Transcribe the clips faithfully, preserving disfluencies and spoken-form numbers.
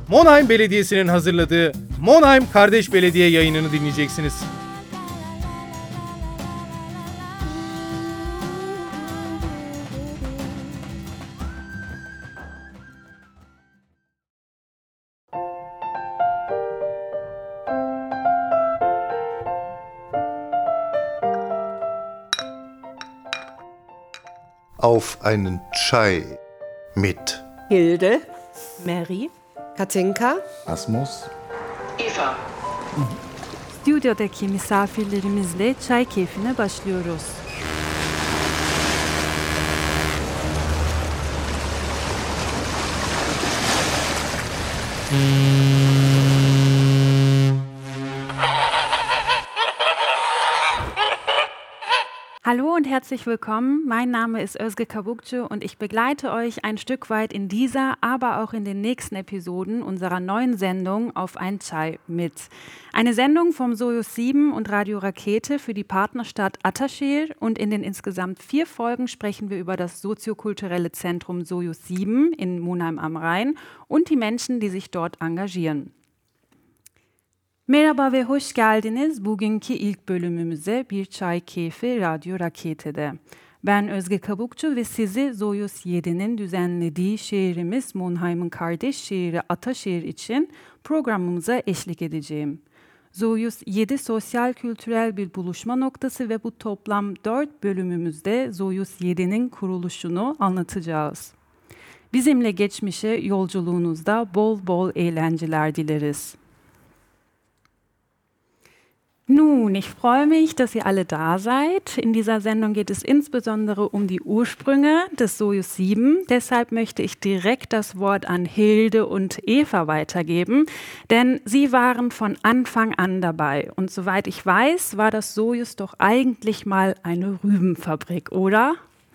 Monheim Belediyesi'nin hazırladığı Monheim Kardeş Belediye yayınını dinleyeceksiniz. Auf einen Chai mit Hilde, Mary, Katinka, Asmus, Eva. Stüdyodaki misafirlerimizle çay keyfine başlıyoruz. Hallo und herzlich willkommen. Mein Name ist Özge Kabukcu und ich begleite euch ein Stück weit in dieser, aber auch in den nächsten Episoden unserer neuen Sendung Auf ein Chai mit. Eine Sendung vom Soyuz sieben und Radio Rakete für die Partnerstadt Ataşehir, und in den insgesamt vier Folgen sprechen wir über das soziokulturelle Zentrum Soyuz sieben in Monheim am Rhein und die Menschen, die sich dort engagieren. Merhaba ve hoş geldiniz bugünkü ilk bölümümüze Bir Çay Keyfi Radyo Rakete'de. Ben Özge Kabukcu ve sizi Soyuz yedi'nin düzenlediği şehrimiz Monheim'ın kardeş şehri Ataşehir için programımıza eşlik edeceğim. Soyuz yedi sosyal kültürel bir buluşma noktası ve bu toplam dört bölümümüzde Soyuz yedi'nin kuruluşunu anlatacağız. Bizimle geçmişe yolculuğunuzda bol bol eğlenceler dileriz. Nun, ich freue mich, dass ihr alle da seid. In dieser Sendung geht es insbesondere um die Ursprünge des Soyuz sieben. Deshalb möchte ich direkt das Wort an Hilde und Eva weitergeben, denn sie waren von Anfang an dabei. Und soweit ich weiß, war das Soyuz doch eigentlich mal eine Rübenfabrik, oder?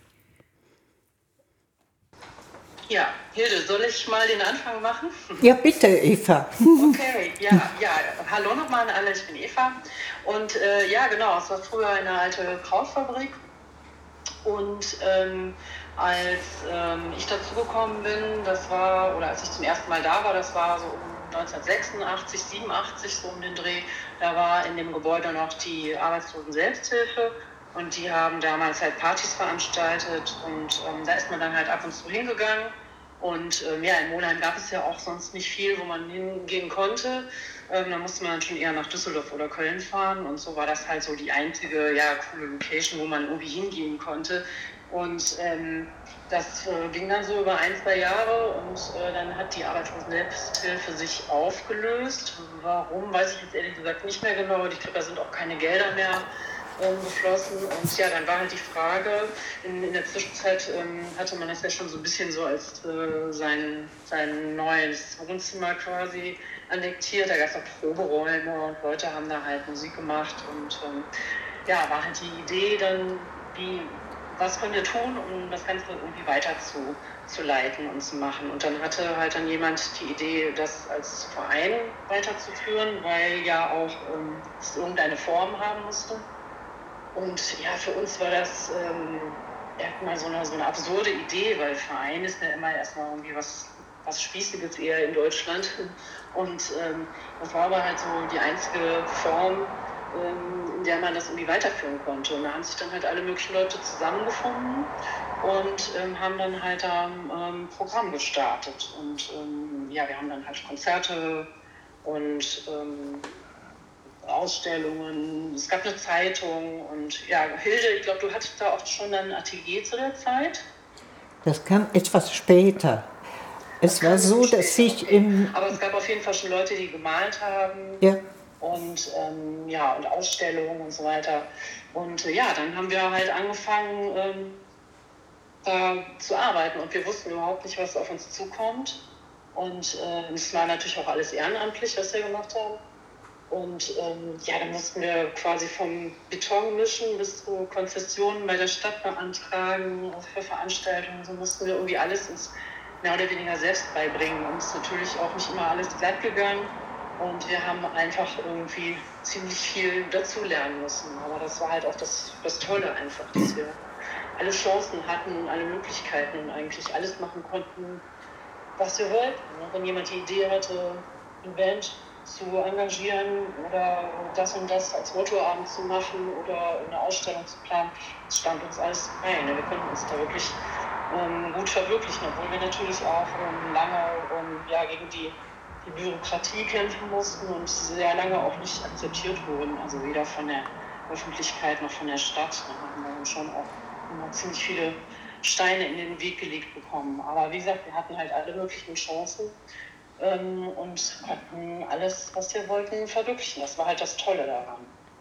Ja, Hilde, soll ich mal den Anfang machen? Ja, bitte, Eva. Okay, ja, ja. Hallo nochmal an alle, ich bin Eva. Und äh, ja, genau, es war früher eine alte Krautfabrik. Und ähm, als ähm, ich dazugekommen bin, das war, oder als ich zum ersten Mal da war, das war so um neunzehnhundertsechsundachtzig, siebenundachtzig, so um den Dreh, da war in dem Gebäude noch die Arbeitslosen-Selbsthilfe. Und die haben damals halt Partys veranstaltet und ähm, da ist man dann halt ab und zu hingegangen. Und ähm, ja, in Monheim gab es ja auch sonst nicht viel, wo man hingehen konnte. Ähm, da musste man dann schon eher nach Düsseldorf oder Köln fahren. Und so war das halt so die einzige, ja, coole Location, wo man irgendwie hingehen konnte. Und ähm, das äh, ging dann so über ein, zwei Jahre und äh, dann hat die Arbeitslosen-Selbsthilfe sich aufgelöst. Warum, weiß ich jetzt ehrlich gesagt nicht mehr genau. Ich glaube, da sind auch keine Gelder mehr geflossen. Und ja, dann war halt die Frage, in, in der Zwischenzeit ähm, hatte man das ja schon so ein bisschen so als äh, sein, sein neues Wohnzimmer quasi annektiert. Da gab es auch Proberäume und Leute haben da halt Musik gemacht und ähm, ja, war halt die Idee dann, wie, was können wir tun, um das Ganze irgendwie weiter zu, zu leiten und zu machen. Und dann hatte halt dann jemand die Idee, das als Verein weiterzuführen, weil ja auch ähm, es irgendeine Form haben musste. Und ja, für uns war das ähm, erstmal so eine, so eine absurde Idee, weil Verein ist ja immer erstmal irgendwie was, was Spießiges eher in Deutschland. Und ähm, das war aber halt so die einzige Form, ähm, in der man das irgendwie weiterführen konnte. Und da haben sich dann halt alle möglichen Leute zusammengefunden und ähm, haben dann halt da ein ähm, Programm gestartet. Und ähm, ja, wir haben dann halt Konzerte und ähm, Ausstellungen, es gab eine Zeitung und ja, Hilde, ich glaube, du hattest da auch schon ein Atelier zu der Zeit? Das kam etwas später. Es war so, dass ich okay. im... Aber es gab auf jeden Fall schon Leute, die gemalt haben. Ja. Und ähm, ja, und Ausstellungen und so weiter. Und äh, ja, dann haben wir halt angefangen, ähm, da zu arbeiten und wir wussten überhaupt nicht, was auf uns zukommt. Und äh, es war natürlich auch alles ehrenamtlich, was wir gemacht haben. Und ähm, ja, dann mussten wir quasi vom Beton mischen bis zu Konzessionen bei der Stadt beantragen, auch für Veranstaltungen. So mussten wir irgendwie alles uns mehr oder weniger selbst beibringen. Und es ist natürlich auch nicht immer alles glatt gegangen. Und wir haben einfach irgendwie ziemlich viel dazulernen müssen. Aber das war halt auch das, das Tolle einfach, dass wir alle Chancen hatten, alle Möglichkeiten und eigentlich alles machen konnten, was wir wollten. Wenn jemand die Idee hatte, eine Band zu engagieren oder das und das als Mottoabend zu machen oder eine Ausstellung zu planen, das stand uns alles frei. Wir konnten uns da wirklich ähm, gut verwirklichen, obwohl wir natürlich auch ähm, lange ähm, ja, gegen die, die Bürokratie kämpfen mussten und sehr lange auch nicht akzeptiert wurden, also weder von der Öffentlichkeit noch von der Stadt. Da haben wir schon auch immer ziemlich viele Steine in den Weg gelegt bekommen. Aber wie gesagt, wir hatten halt alle möglichen Chancen ähm, und konnten alles, was wir wollten, verwirklichen. Das war halt das Tolle daran.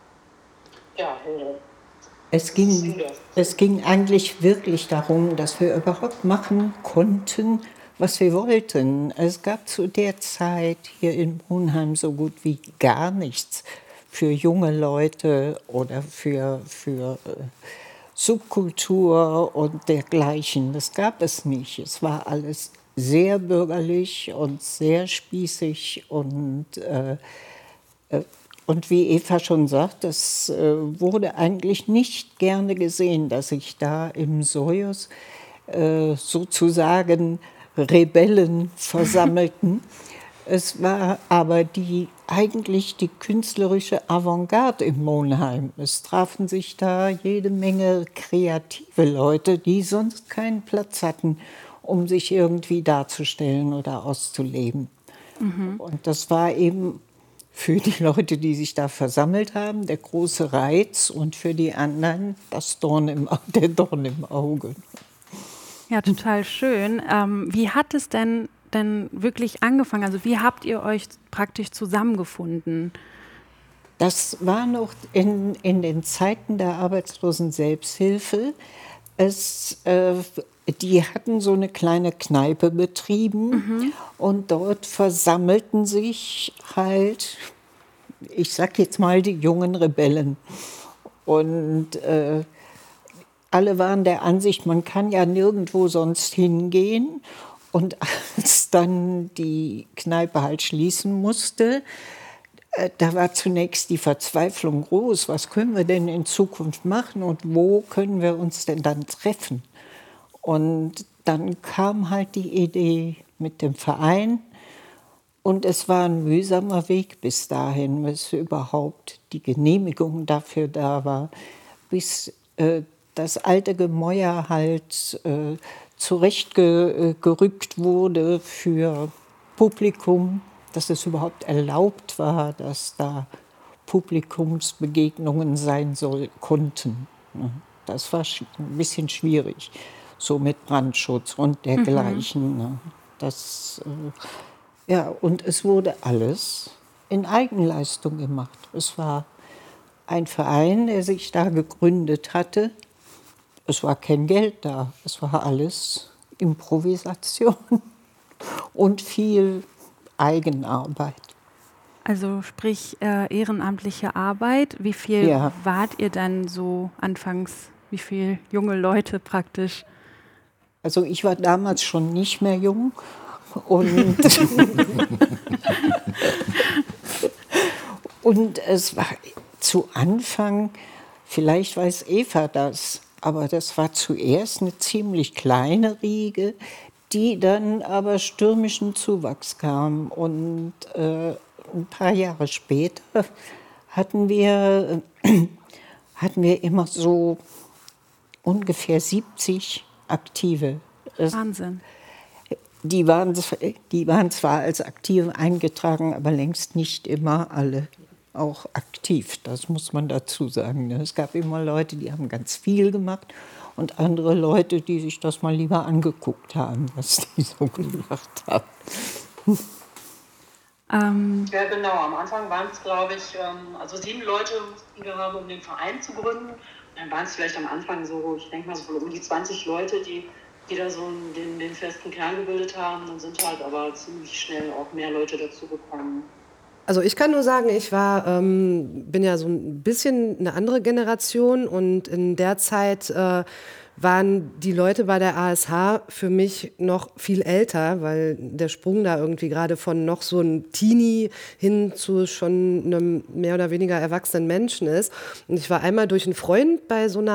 Ja, Hilde. Es ging, es ging eigentlich wirklich darum, dass wir überhaupt machen konnten, was wir wollten. Es gab zu der Zeit hier in Monheim so gut wie gar nichts für junge Leute oder für, für äh, Subkultur und dergleichen. Das gab es nicht. Es war alles sehr bürgerlich und sehr spießig und, äh, äh, und wie Eva schon sagt, es äh, wurde eigentlich nicht gerne gesehen, dass sich da im Sojus äh, sozusagen Rebellen versammelten. Es war aber die, eigentlich die künstlerische Avantgarde im Monheim. Es trafen sich da jede Menge kreative Leute, die sonst keinen Platz hatten, um sich irgendwie darzustellen oder auszuleben. Mhm. Und das war eben für die Leute, die sich da versammelt haben, der große Reiz und für die anderen das Dorn im, der Dorn im Auge. Ja, total schön. Ähm, wie hat es denn denn wirklich angefangen? Also wie habt ihr euch praktisch zusammengefunden? Das war noch in, in den Zeiten der arbeitslosen Selbsthilfe. Es, äh, die hatten so eine kleine Kneipe betrieben mhm. und dort versammelten sich halt, ich sag jetzt mal, die jungen Rebellen. Und äh, alle waren der Ansicht, man kann ja nirgendwo sonst hingehen. Und als dann die Kneipe halt schließen musste, äh, da war zunächst die Verzweiflung groß. Was können wir denn in Zukunft machen und wo können wir uns denn dann treffen? Und dann kam halt die Idee mit dem Verein. Und es war ein mühsamer Weg bis dahin, bis überhaupt die Genehmigung dafür da war, bis äh, das alte Gemäuer halt äh, zurechtgerückt wurde für Publikum, dass es überhaupt erlaubt war, dass da Publikumsbegegnungen sein soll, konnten. Das war ein bisschen schwierig, so mit Brandschutz und dergleichen. Mhm. Das, äh, ja, und es wurde alles in Eigenleistung gemacht. Es war ein Verein, der sich da gegründet hatte. Es war kein Geld da, es war alles Improvisation und viel Eigenarbeit. Also sprich äh, ehrenamtliche Arbeit. Wie viel ja. wart ihr dann so anfangs, wie viele junge Leute praktisch? Also ich war damals schon nicht mehr jung und, und es war zu Anfang, vielleicht weiß Eva das, aber das war zuerst eine ziemlich kleine Riege, die dann aber stürmischen Zuwachs kam. Und äh, ein paar Jahre später hatten wir, äh, hatten wir immer so ungefähr siebzig Aktive. Wahnsinn. Die waren, die waren zwar als Aktive eingetragen, aber längst nicht immer alle auch aktiv, das muss man dazu sagen. Es gab immer Leute, die haben ganz viel gemacht und andere Leute, die sich das mal lieber angeguckt haben, was die so gemacht haben. Ähm. Ja, genau. Am Anfang waren es, glaube ich, also sieben Leute, die wir haben, um den Verein zu gründen. Und dann waren es vielleicht am Anfang so, ich denke mal so um die zwanzig Leute, die, die da so den, den festen Kern gebildet haben. Dann sind halt aber ziemlich schnell auch mehr Leute dazu gekommen. Also ich kann nur sagen, ich war, ähm, bin ja so ein bisschen eine andere Generation und in der Zeit äh, waren die Leute bei der A S H für mich noch viel älter, weil der Sprung da irgendwie gerade von noch so einem Teenie hin zu schon einem mehr oder weniger erwachsenen Menschen ist. Und ich war einmal durch einen Freund bei so einer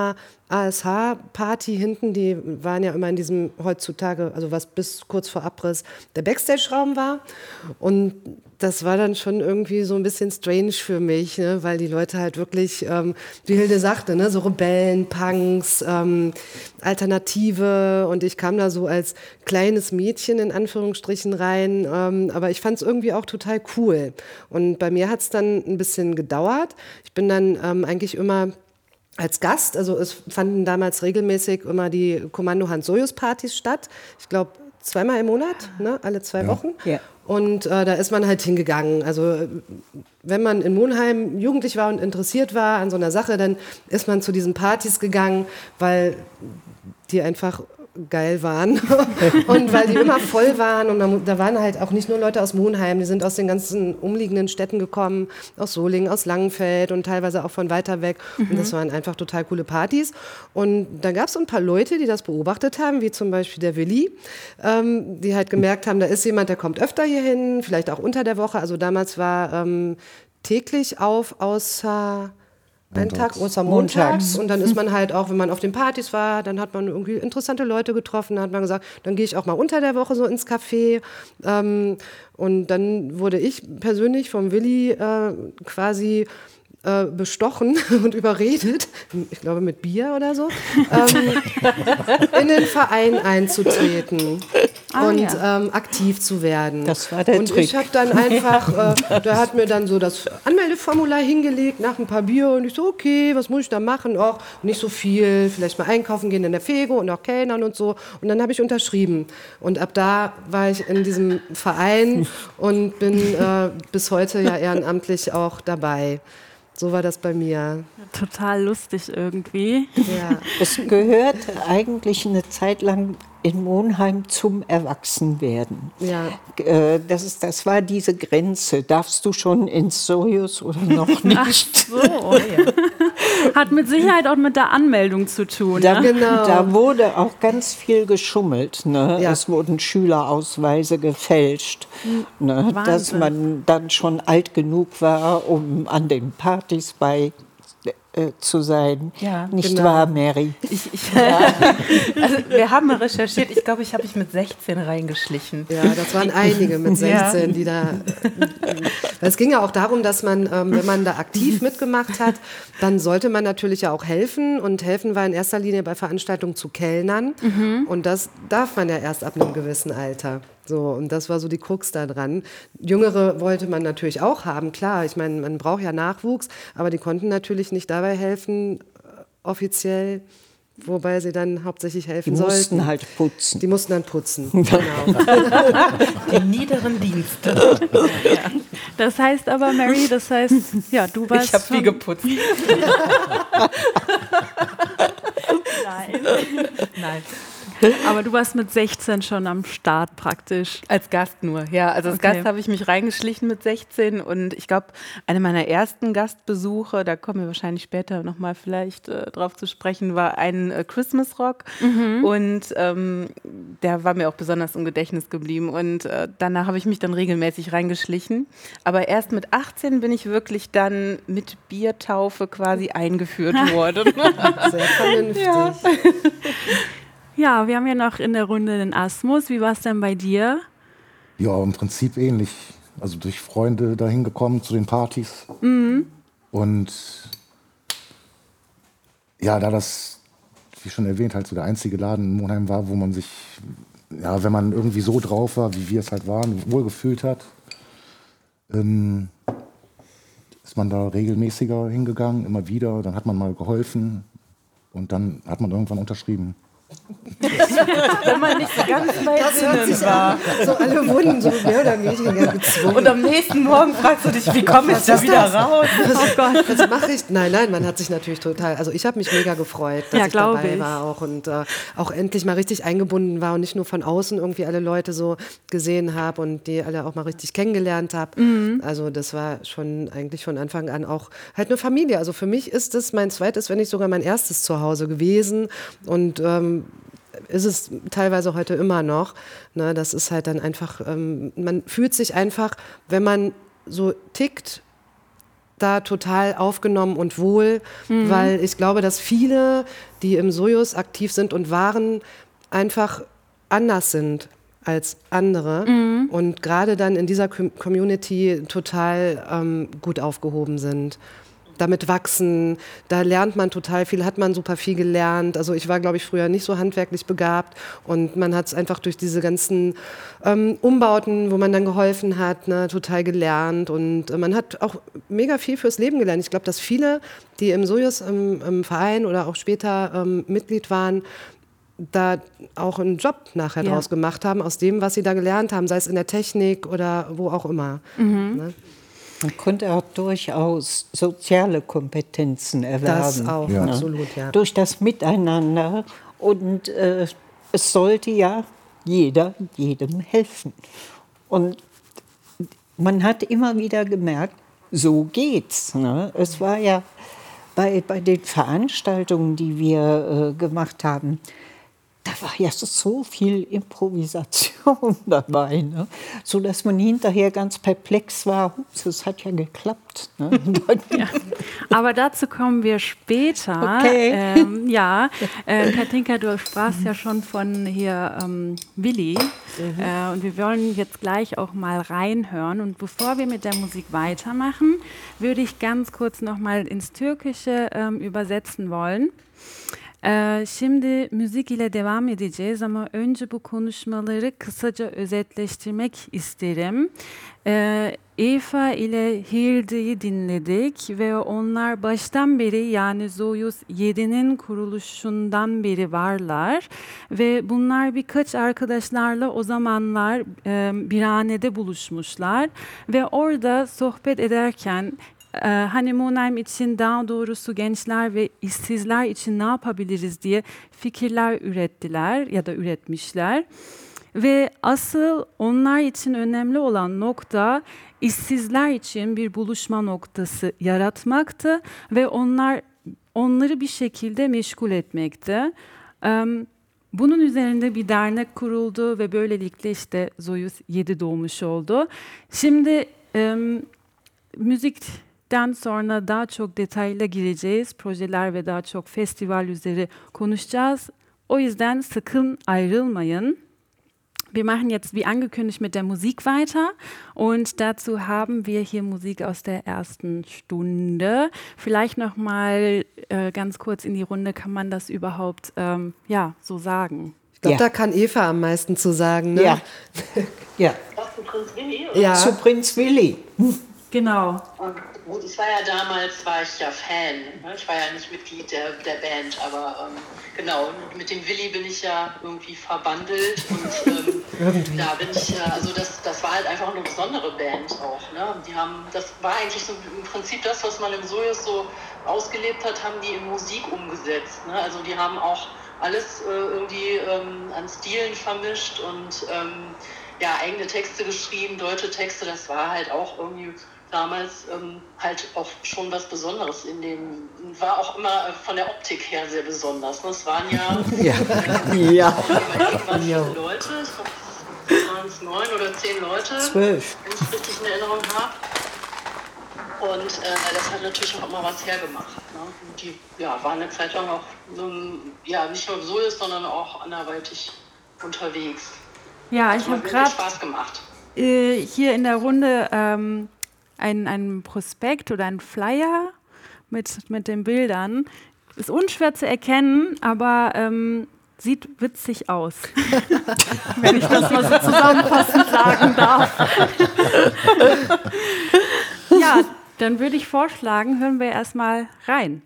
A S H-Party hinten, die waren ja immer in diesem heutzutage, also was bis kurz vor Abriss der Backstage-Raum war. Und das war dann schon irgendwie so ein bisschen strange für mich, ne? Weil die Leute halt wirklich, ähm, wie Hilde sagte, ne? So Rebellen, Punks, ähm, Alternative. Und ich kam da so als kleines Mädchen in Anführungsstrichen rein. Ähm, aber ich fand es irgendwie auch total cool. Und bei mir hat es dann ein bisschen gedauert. Ich bin dann ähm, eigentlich immer als Gast, also es fanden damals regelmäßig immer die Kommando Hans-Sojus-Partys statt. Ich glaube, zweimal im Monat, ne? Alle zwei Ja. Wochen. Ja. Und äh, da ist man halt hingegangen. Also wenn man in Monheim jugendlich war und interessiert war an so einer Sache, dann ist man zu diesen Partys gegangen, weil die einfach geil waren und weil die immer voll waren und da, da waren halt auch nicht nur Leute aus Monheim, die sind aus den ganzen umliegenden Städten gekommen, aus Solingen, aus Langenfeld und teilweise auch von weiter weg mhm. und das waren einfach total coole Partys und da gab es so ein paar Leute, die das beobachtet haben, wie zum Beispiel der Willi, ähm, die halt gemerkt haben, da ist jemand, der kommt öfter hier hin, vielleicht auch unter der Woche, also damals war ähm, täglich auf, außer Ein Tag außer montags und dann ist man halt auch, wenn man auf den Partys war, dann hat man irgendwie interessante Leute getroffen, dann hat man gesagt, dann gehe ich auch mal unter der Woche so ins Café ähm, und dann wurde ich persönlich vom Willi äh, quasi äh, bestochen und überredet, ich glaube mit Bier oder so, ähm, in den Verein einzutreten Ah, und ja. ähm, aktiv zu werden. Das war der und Trick. ich habe dann einfach, äh, der hat mir dann so das Anmeldeformular hingelegt nach ein paar Bier und ich so, okay, was muss ich da machen? Och, nicht so viel, vielleicht mal einkaufen gehen in der Fego und auch Kellnern und so. Und dann habe ich unterschrieben. Und ab da war ich in diesem Verein und bin äh, bis heute ja ehrenamtlich auch dabei. So war das bei mir. Total lustig irgendwie. Ja. Es gehört eigentlich eine Zeit lang in Monheim zum Erwachsenwerden. Ja. Äh, Das, ist, das war diese Grenze. Darfst du schon ins Sojus oder noch nicht? So. Hat mit Sicherheit auch mit der Anmeldung zu tun. Da, Ne? Genau. da wurde auch ganz viel geschummelt. Ne? Ja. Es wurden Schülerausweise gefälscht, ne? Dass Wahnsinn. man dann schon alt genug war, um an den Partys bei äh, zu sein. Ja, Nicht genau. wahr, Mary? Ich, ich, also wir haben mal recherchiert, ich glaube, ich habe mich mit sechzehn reingeschlichen. Ja, das waren einige mit sechzehn, die da. Es ging ja auch darum, dass man, ähm, wenn man da aktiv mitgemacht hat, dann sollte man natürlich ja auch helfen. Und helfen war in erster Linie bei Veranstaltungen zu Kellnern. Und das darf man ja erst ab einem gewissen Alter. So, und das war so die Krux da dran. Jüngere wollte man natürlich auch haben, klar. Ich meine, man braucht ja Nachwuchs, aber die konnten natürlich nicht dabei helfen, äh, offiziell, wobei sie dann hauptsächlich helfen Die sollten. mussten halt putzen. Die mussten dann putzen, genau. Die niederen Dienste. Das heißt aber, Mary, das heißt, ja, du warst Ich habe viel schon- geputzt. Nein. Nein. Aber du warst mit sechzehn schon am Start praktisch. Als Gast nur, ja. Also als Okay. Gast habe ich mich reingeschlichen mit sechzehn und ich glaube, eine meiner ersten Gastbesuche, da kommen wir wahrscheinlich später nochmal vielleicht äh, drauf zu sprechen, war ein äh, Christmas Rock und ähm, der war mir auch besonders im Gedächtnis geblieben und äh, danach habe ich mich dann regelmäßig reingeschlichen. Aber erst mit achtzehn bin ich wirklich dann mit Biertaufe quasi eingeführt worden. Sehr vernünftig. Ja. Ja, wir haben ja noch in der Runde den Asmus. Wie war es denn bei dir? Ja, im Prinzip ähnlich. Also durch Freunde dahin gekommen zu den Partys. Und ja, da das, wie schon erwähnt, halt so der einzige Laden in Monheim war, wo man sich, ja, wenn man irgendwie so drauf war, wie wir es halt waren, wohlgefühlt hat, ähm, ist man da regelmäßiger hingegangen, immer wieder. Dann hat man mal geholfen und dann hat man irgendwann unterschrieben. Wenn man nicht so ganz bei Sinnen war. So alle wurden so mehr oder weniger gezwungen. Und am nächsten Morgen fragst du dich, wie komme ich da wieder raus? Oh Gott, was mache ich? Nein, nein, man hat sich natürlich total, also ich habe mich mega gefreut, dass Ja, ich glaub dabei ich. war auch und äh, auch endlich mal richtig eingebunden war und nicht nur von außen irgendwie alle Leute so gesehen habe und die alle auch mal richtig kennengelernt habe. Mhm. Also das war schon eigentlich von Anfang an auch halt eine Familie. Also für mich ist es mein zweites, wenn nicht sogar mein erstes Zuhause gewesen und ähm, ist es teilweise heute immer noch. Ne, das ist halt dann einfach, ähm, man fühlt sich einfach, wenn man so tickt, da total aufgenommen und wohl, mhm. weil ich glaube, dass viele, die im Sojus aktiv sind und waren, einfach anders sind als andere mhm. und gerade dann in dieser Community total ähm, gut aufgehoben sind. Damit wachsen, da lernt man total viel, hat man super viel gelernt. Also ich war, glaube ich, früher nicht so handwerklich begabt und man hat es einfach durch diese ganzen ähm, Umbauten, wo man dann geholfen hat, ne, total gelernt und äh, man hat auch mega viel fürs Leben gelernt. Ich glaube, dass viele, die im Sojus im, im Verein oder auch später ähm, Mitglied waren, da auch einen Job nachher ja. draus gemacht haben, aus dem, was sie da gelernt haben, sei es in der Technik oder wo auch immer. Mhm. Ne? Man konnte auch durchaus soziale Kompetenzen erwerben. Das auch, ja. absolut, ja. Durch das Miteinander. Und äh, es sollte ja jeder jedem helfen. Und man hat immer wieder gemerkt, so geht's. Ne? Es war ja bei, bei den Veranstaltungen, die wir äh, gemacht haben, da war ja so viel Improvisation dabei, ne? So dass man hinterher ganz perplex war. Ups, das hat ja geklappt. Ne? Ja. Aber dazu kommen wir später. Okay. Ähm, ja, äh, Katinka, du sprachst ja schon von hier ähm, Willi. Mhm. Äh, und wir wollen jetzt gleich auch mal reinhören. Und bevor wir mit der Musik weitermachen, würde ich ganz kurz noch mal ins Türkische ähm, übersetzen wollen. Ee, şimdi müzik ile devam edeceğiz ama önce bu konuşmaları kısaca özetleştirmek isterim. Ee, Eva ile Hilde'yi dinledik ve onlar baştan beri yani Soyuz yedi'nin kuruluşundan beri varlar ve bunlar birkaç arkadaşlarla o zamanlar e, birhanede buluşmuşlar ve orada sohbet ederken Ee, hani Monheim için daha doğrusu gençler ve işsizler için ne yapabiliriz diye fikirler ürettiler ya da üretmişler. Ve asıl onlar için önemli olan nokta işsizler için bir buluşma noktası yaratmaktı ve onlar onları bir şekilde meşgul etmekti. Ee, bunun üzerinde bir dernek kuruldu ve böylelikle işte Soyuz yedi doğmuş oldu. Şimdi e, müzik Den sonra daha çok detayla gireceğiz. Projeler ve daha çok festival üzeri konuşacağız. O yüzden sakın ayrılmayın. Wir machen jetzt wie angekündigt mit der Musik weiter und dazu haben wir hier Musik aus der ersten Stunde. Vielleicht noch mal äh, ganz kurz in die Runde, kann man das überhaupt ähm, ja, so sagen? Ich glaube, ja. da kann Eva am meisten zu sagen. Ne? Ja. ja. Was, zu Prinz Willi? Oder? Ja. Zu Prinz Willi. Genau. Und gut, ich war ja damals, war ich ja Fan. Ne? Ich war ja nicht Mitglied der, der Band, aber ähm, genau, mit dem Willi bin ich ja irgendwie verbandelt. Und ähm, da bin ich, ja, also das, das war halt einfach eine besondere Band auch. Ne? Die haben, das war eigentlich so im Prinzip das, was man im Sojus so ausgelebt hat, haben die in Musik umgesetzt. Ne? Also die haben auch alles äh, irgendwie ähm, an Stilen vermischt und ähm, ja, eigene Texte geschrieben, deutsche Texte, das war halt auch irgendwie damals ähm, halt auch schon was Besonderes in dem, war auch immer von der Optik her sehr besonders. Ne? Es waren ja, ja. Äh, ja. Irgendwann viele Leute, ich glaube, es waren es neun oder zehn Leute, zwölf, wenn ich es richtig in Erinnerung habe. Und äh, das hat natürlich auch immer was hergemacht. Ne? Und die ja, waren eine Zeit lang auch ähm, ja, nicht nur so ist, sondern auch anderweitig unterwegs. Ja, ich habe gerade Spaß gemacht. Äh, hier in der Runde ähm, ein, ein Prospekt oder ein Flyer mit, mit den Bildern. Ist unschwer zu erkennen, aber ähm, sieht witzig aus, wenn ich das mal so zusammenfassend sagen darf. Ja, dann würde ich vorschlagen, hören wir erstmal rein.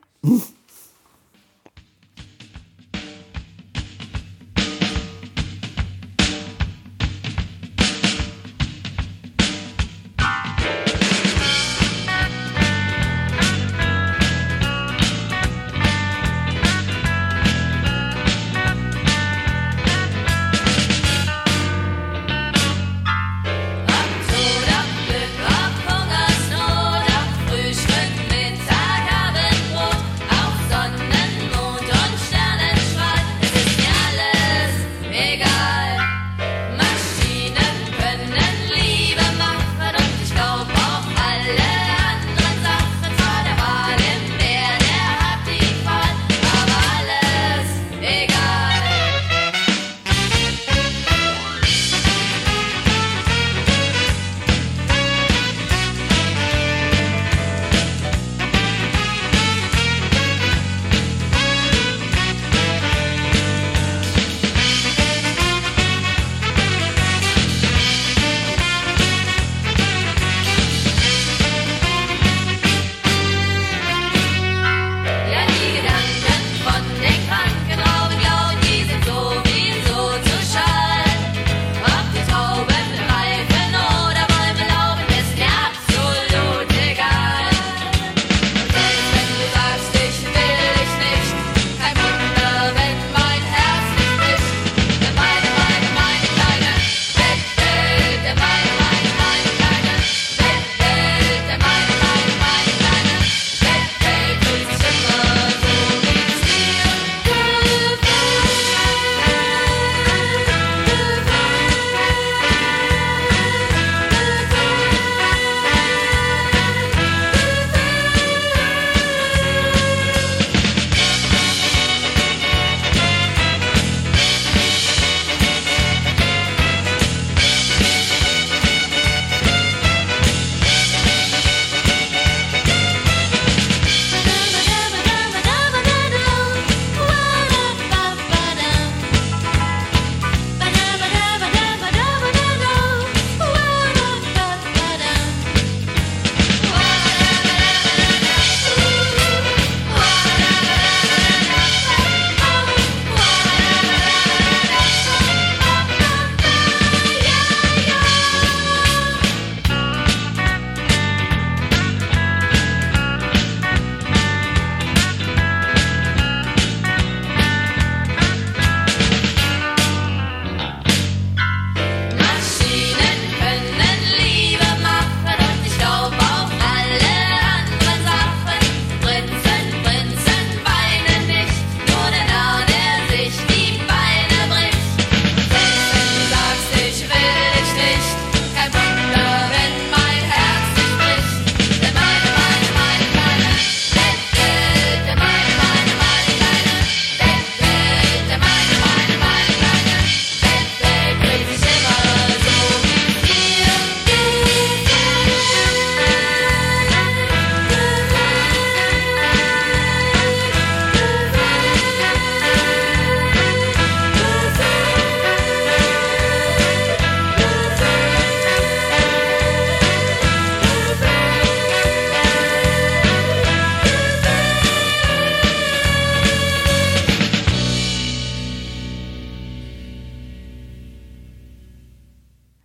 Auf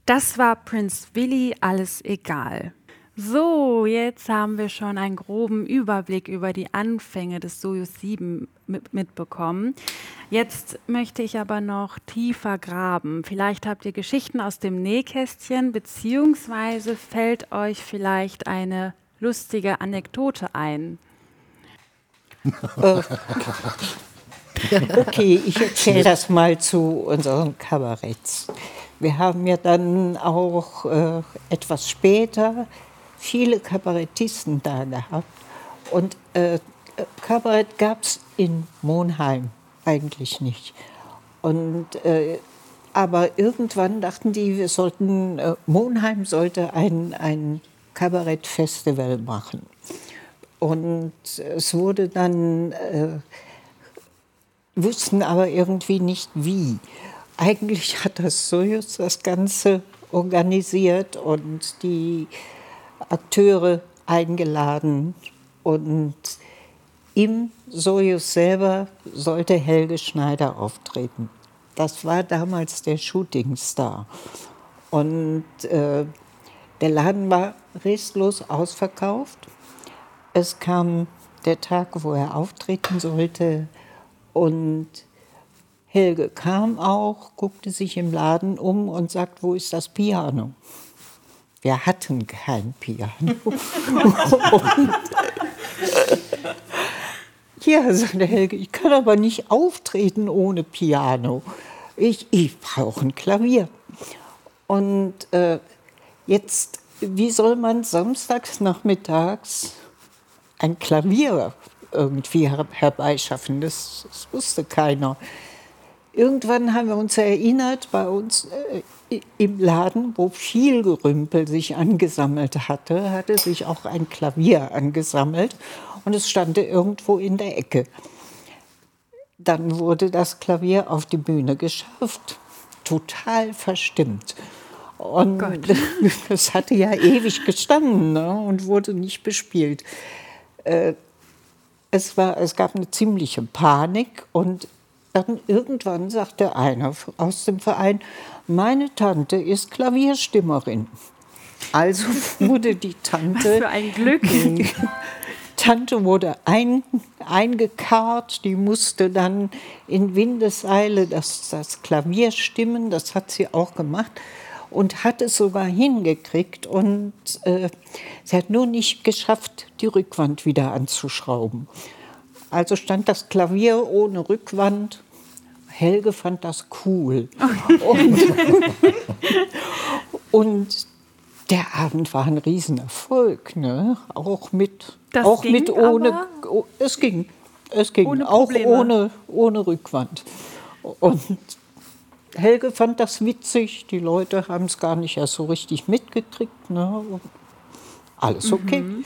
Das war Prince Willy, alles egal. So, jetzt haben wir schon einen groben Überblick über die Anfänge des Sojus sieben mit, mitbekommen. Jetzt möchte ich aber noch tiefer graben. Vielleicht habt ihr Geschichten aus dem Nähkästchen, beziehungsweise fällt euch vielleicht eine lustige Anekdote ein. Äh, okay, ich erzähle das mal zu unseren Kabaretts. Wir haben ja dann auch äh, etwas später viele Kabarettisten da gehabt. Und äh, Kabarett gab es in Monheim eigentlich nicht. Und, äh, aber irgendwann dachten die, wir sollten, äh, Monheim sollte ein, ein Kabarettfestival machen. Und es wurde dann, äh, wussten aber irgendwie nicht wie. Eigentlich hat das Sojus das Ganze organisiert und die Akteure eingeladen. Und im Sojus selber sollte Helge Schneider auftreten. Das war damals der Shootingstar. Und äh, der Laden war restlos ausverkauft. Es kam der Tag, wo er auftreten sollte. Und Helge kam auch, guckte sich im Laden um und sagt, wo ist das Piano? Wir hatten kein Piano. und, ja, sagte Helge, ich kann aber nicht auftreten ohne Piano. Ich, ich brauche ein Klavier. Und äh, jetzt, wie soll man samstags nachmittags ein Klavier irgendwie her herbeischaffen? Das, das wusste keiner. Irgendwann haben wir uns erinnert, bei uns äh, im Laden, wo viel Gerümpel sich angesammelt hatte, hatte sich auch ein Klavier angesammelt und es stand irgendwo in der Ecke. Dann wurde das Klavier auf die Bühne geschafft, total verstimmt. Und es hatte ja ewig gestanden, ne, und wurde nicht bespielt. Äh, es, war, es gab eine ziemliche Panik und dann irgendwann sagte einer aus dem Verein, meine Tante ist Klavierstimmerin. Also wurde die Tante... Was für ein Glück! Die Tante wurde ein, eingekarrt, die musste dann in Windeseile das, das Klavier stimmen, das hat sie auch gemacht und hat es sogar hingekriegt. Und äh, sie hat nur nicht geschafft, die Rückwand wieder anzuschrauben. Also stand das Klavier ohne Rückwand. Helge fand das cool. Und, und der Abend war ein Riesenerfolg, ne? Auch mit, das auch ging mit ohne, aber oh, es ging, es ging, ohne auch Probleme. ohne, ohne Rückwand. Und Helge fand das witzig, die Leute haben es gar nicht erst so richtig mitgekriegt, ne? Alles okay. Mhm.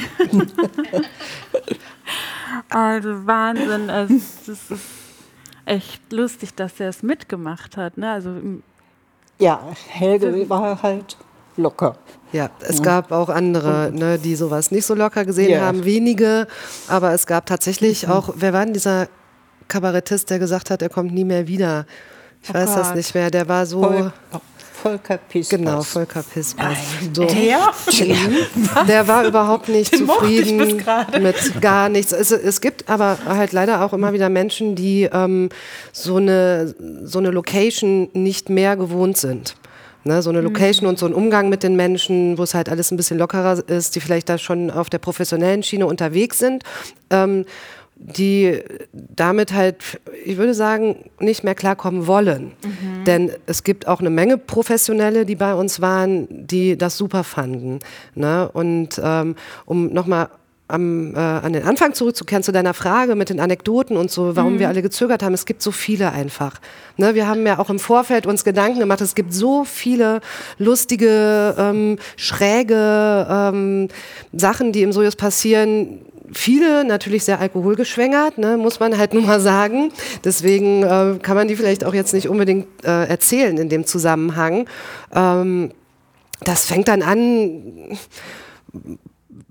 Also Wahnsinn, also, das ist echt lustig, dass er es mitgemacht hat, ne? Also, ja, Helge war halt locker. Ja, es gab auch andere, ne, die sowas nicht so locker gesehen Ja. haben, wenige, aber es gab tatsächlich auch, wer war denn dieser Kabarettist, der gesagt hat, er kommt nie mehr wieder? Ich Oh weiß das Gott. nicht mehr, der war so... Vol Volker Pispas. Genau, Volker Pispas. So. der? Der war überhaupt nicht Den mochte ich zufrieden bis gerade. mit gar nichts. Es, es gibt aber halt leider auch immer wieder Menschen, die ähm, so eine, so eine Location nicht mehr gewohnt sind. Ne, so eine Location Mhm. und so ein Umgang mit den Menschen, wo es halt alles ein bisschen lockerer ist, die vielleicht da schon auf der professionellen Schiene unterwegs sind. Ähm, die damit halt, ich würde sagen, nicht mehr klarkommen wollen. Mhm. Denn es gibt auch eine Menge Professionelle, die bei uns waren, die das super fanden. Ne? Und ähm, um nochmal am, äh, an den Anfang zurückzukehren zu deiner Frage mit den Anekdoten und so, warum mhm. wir alle gezögert haben, es gibt so viele einfach. Ne? Wir haben ja auch im Vorfeld uns Gedanken gemacht, es gibt so viele lustige, ähm, schräge ähm, Sachen, die im Sojus passieren. Viele natürlich sehr alkoholgeschwängert, ne, muss man halt nur mal sagen. Deswegen äh, kann man die vielleicht auch jetzt nicht unbedingt äh, erzählen in dem Zusammenhang. Ähm, das fängt dann an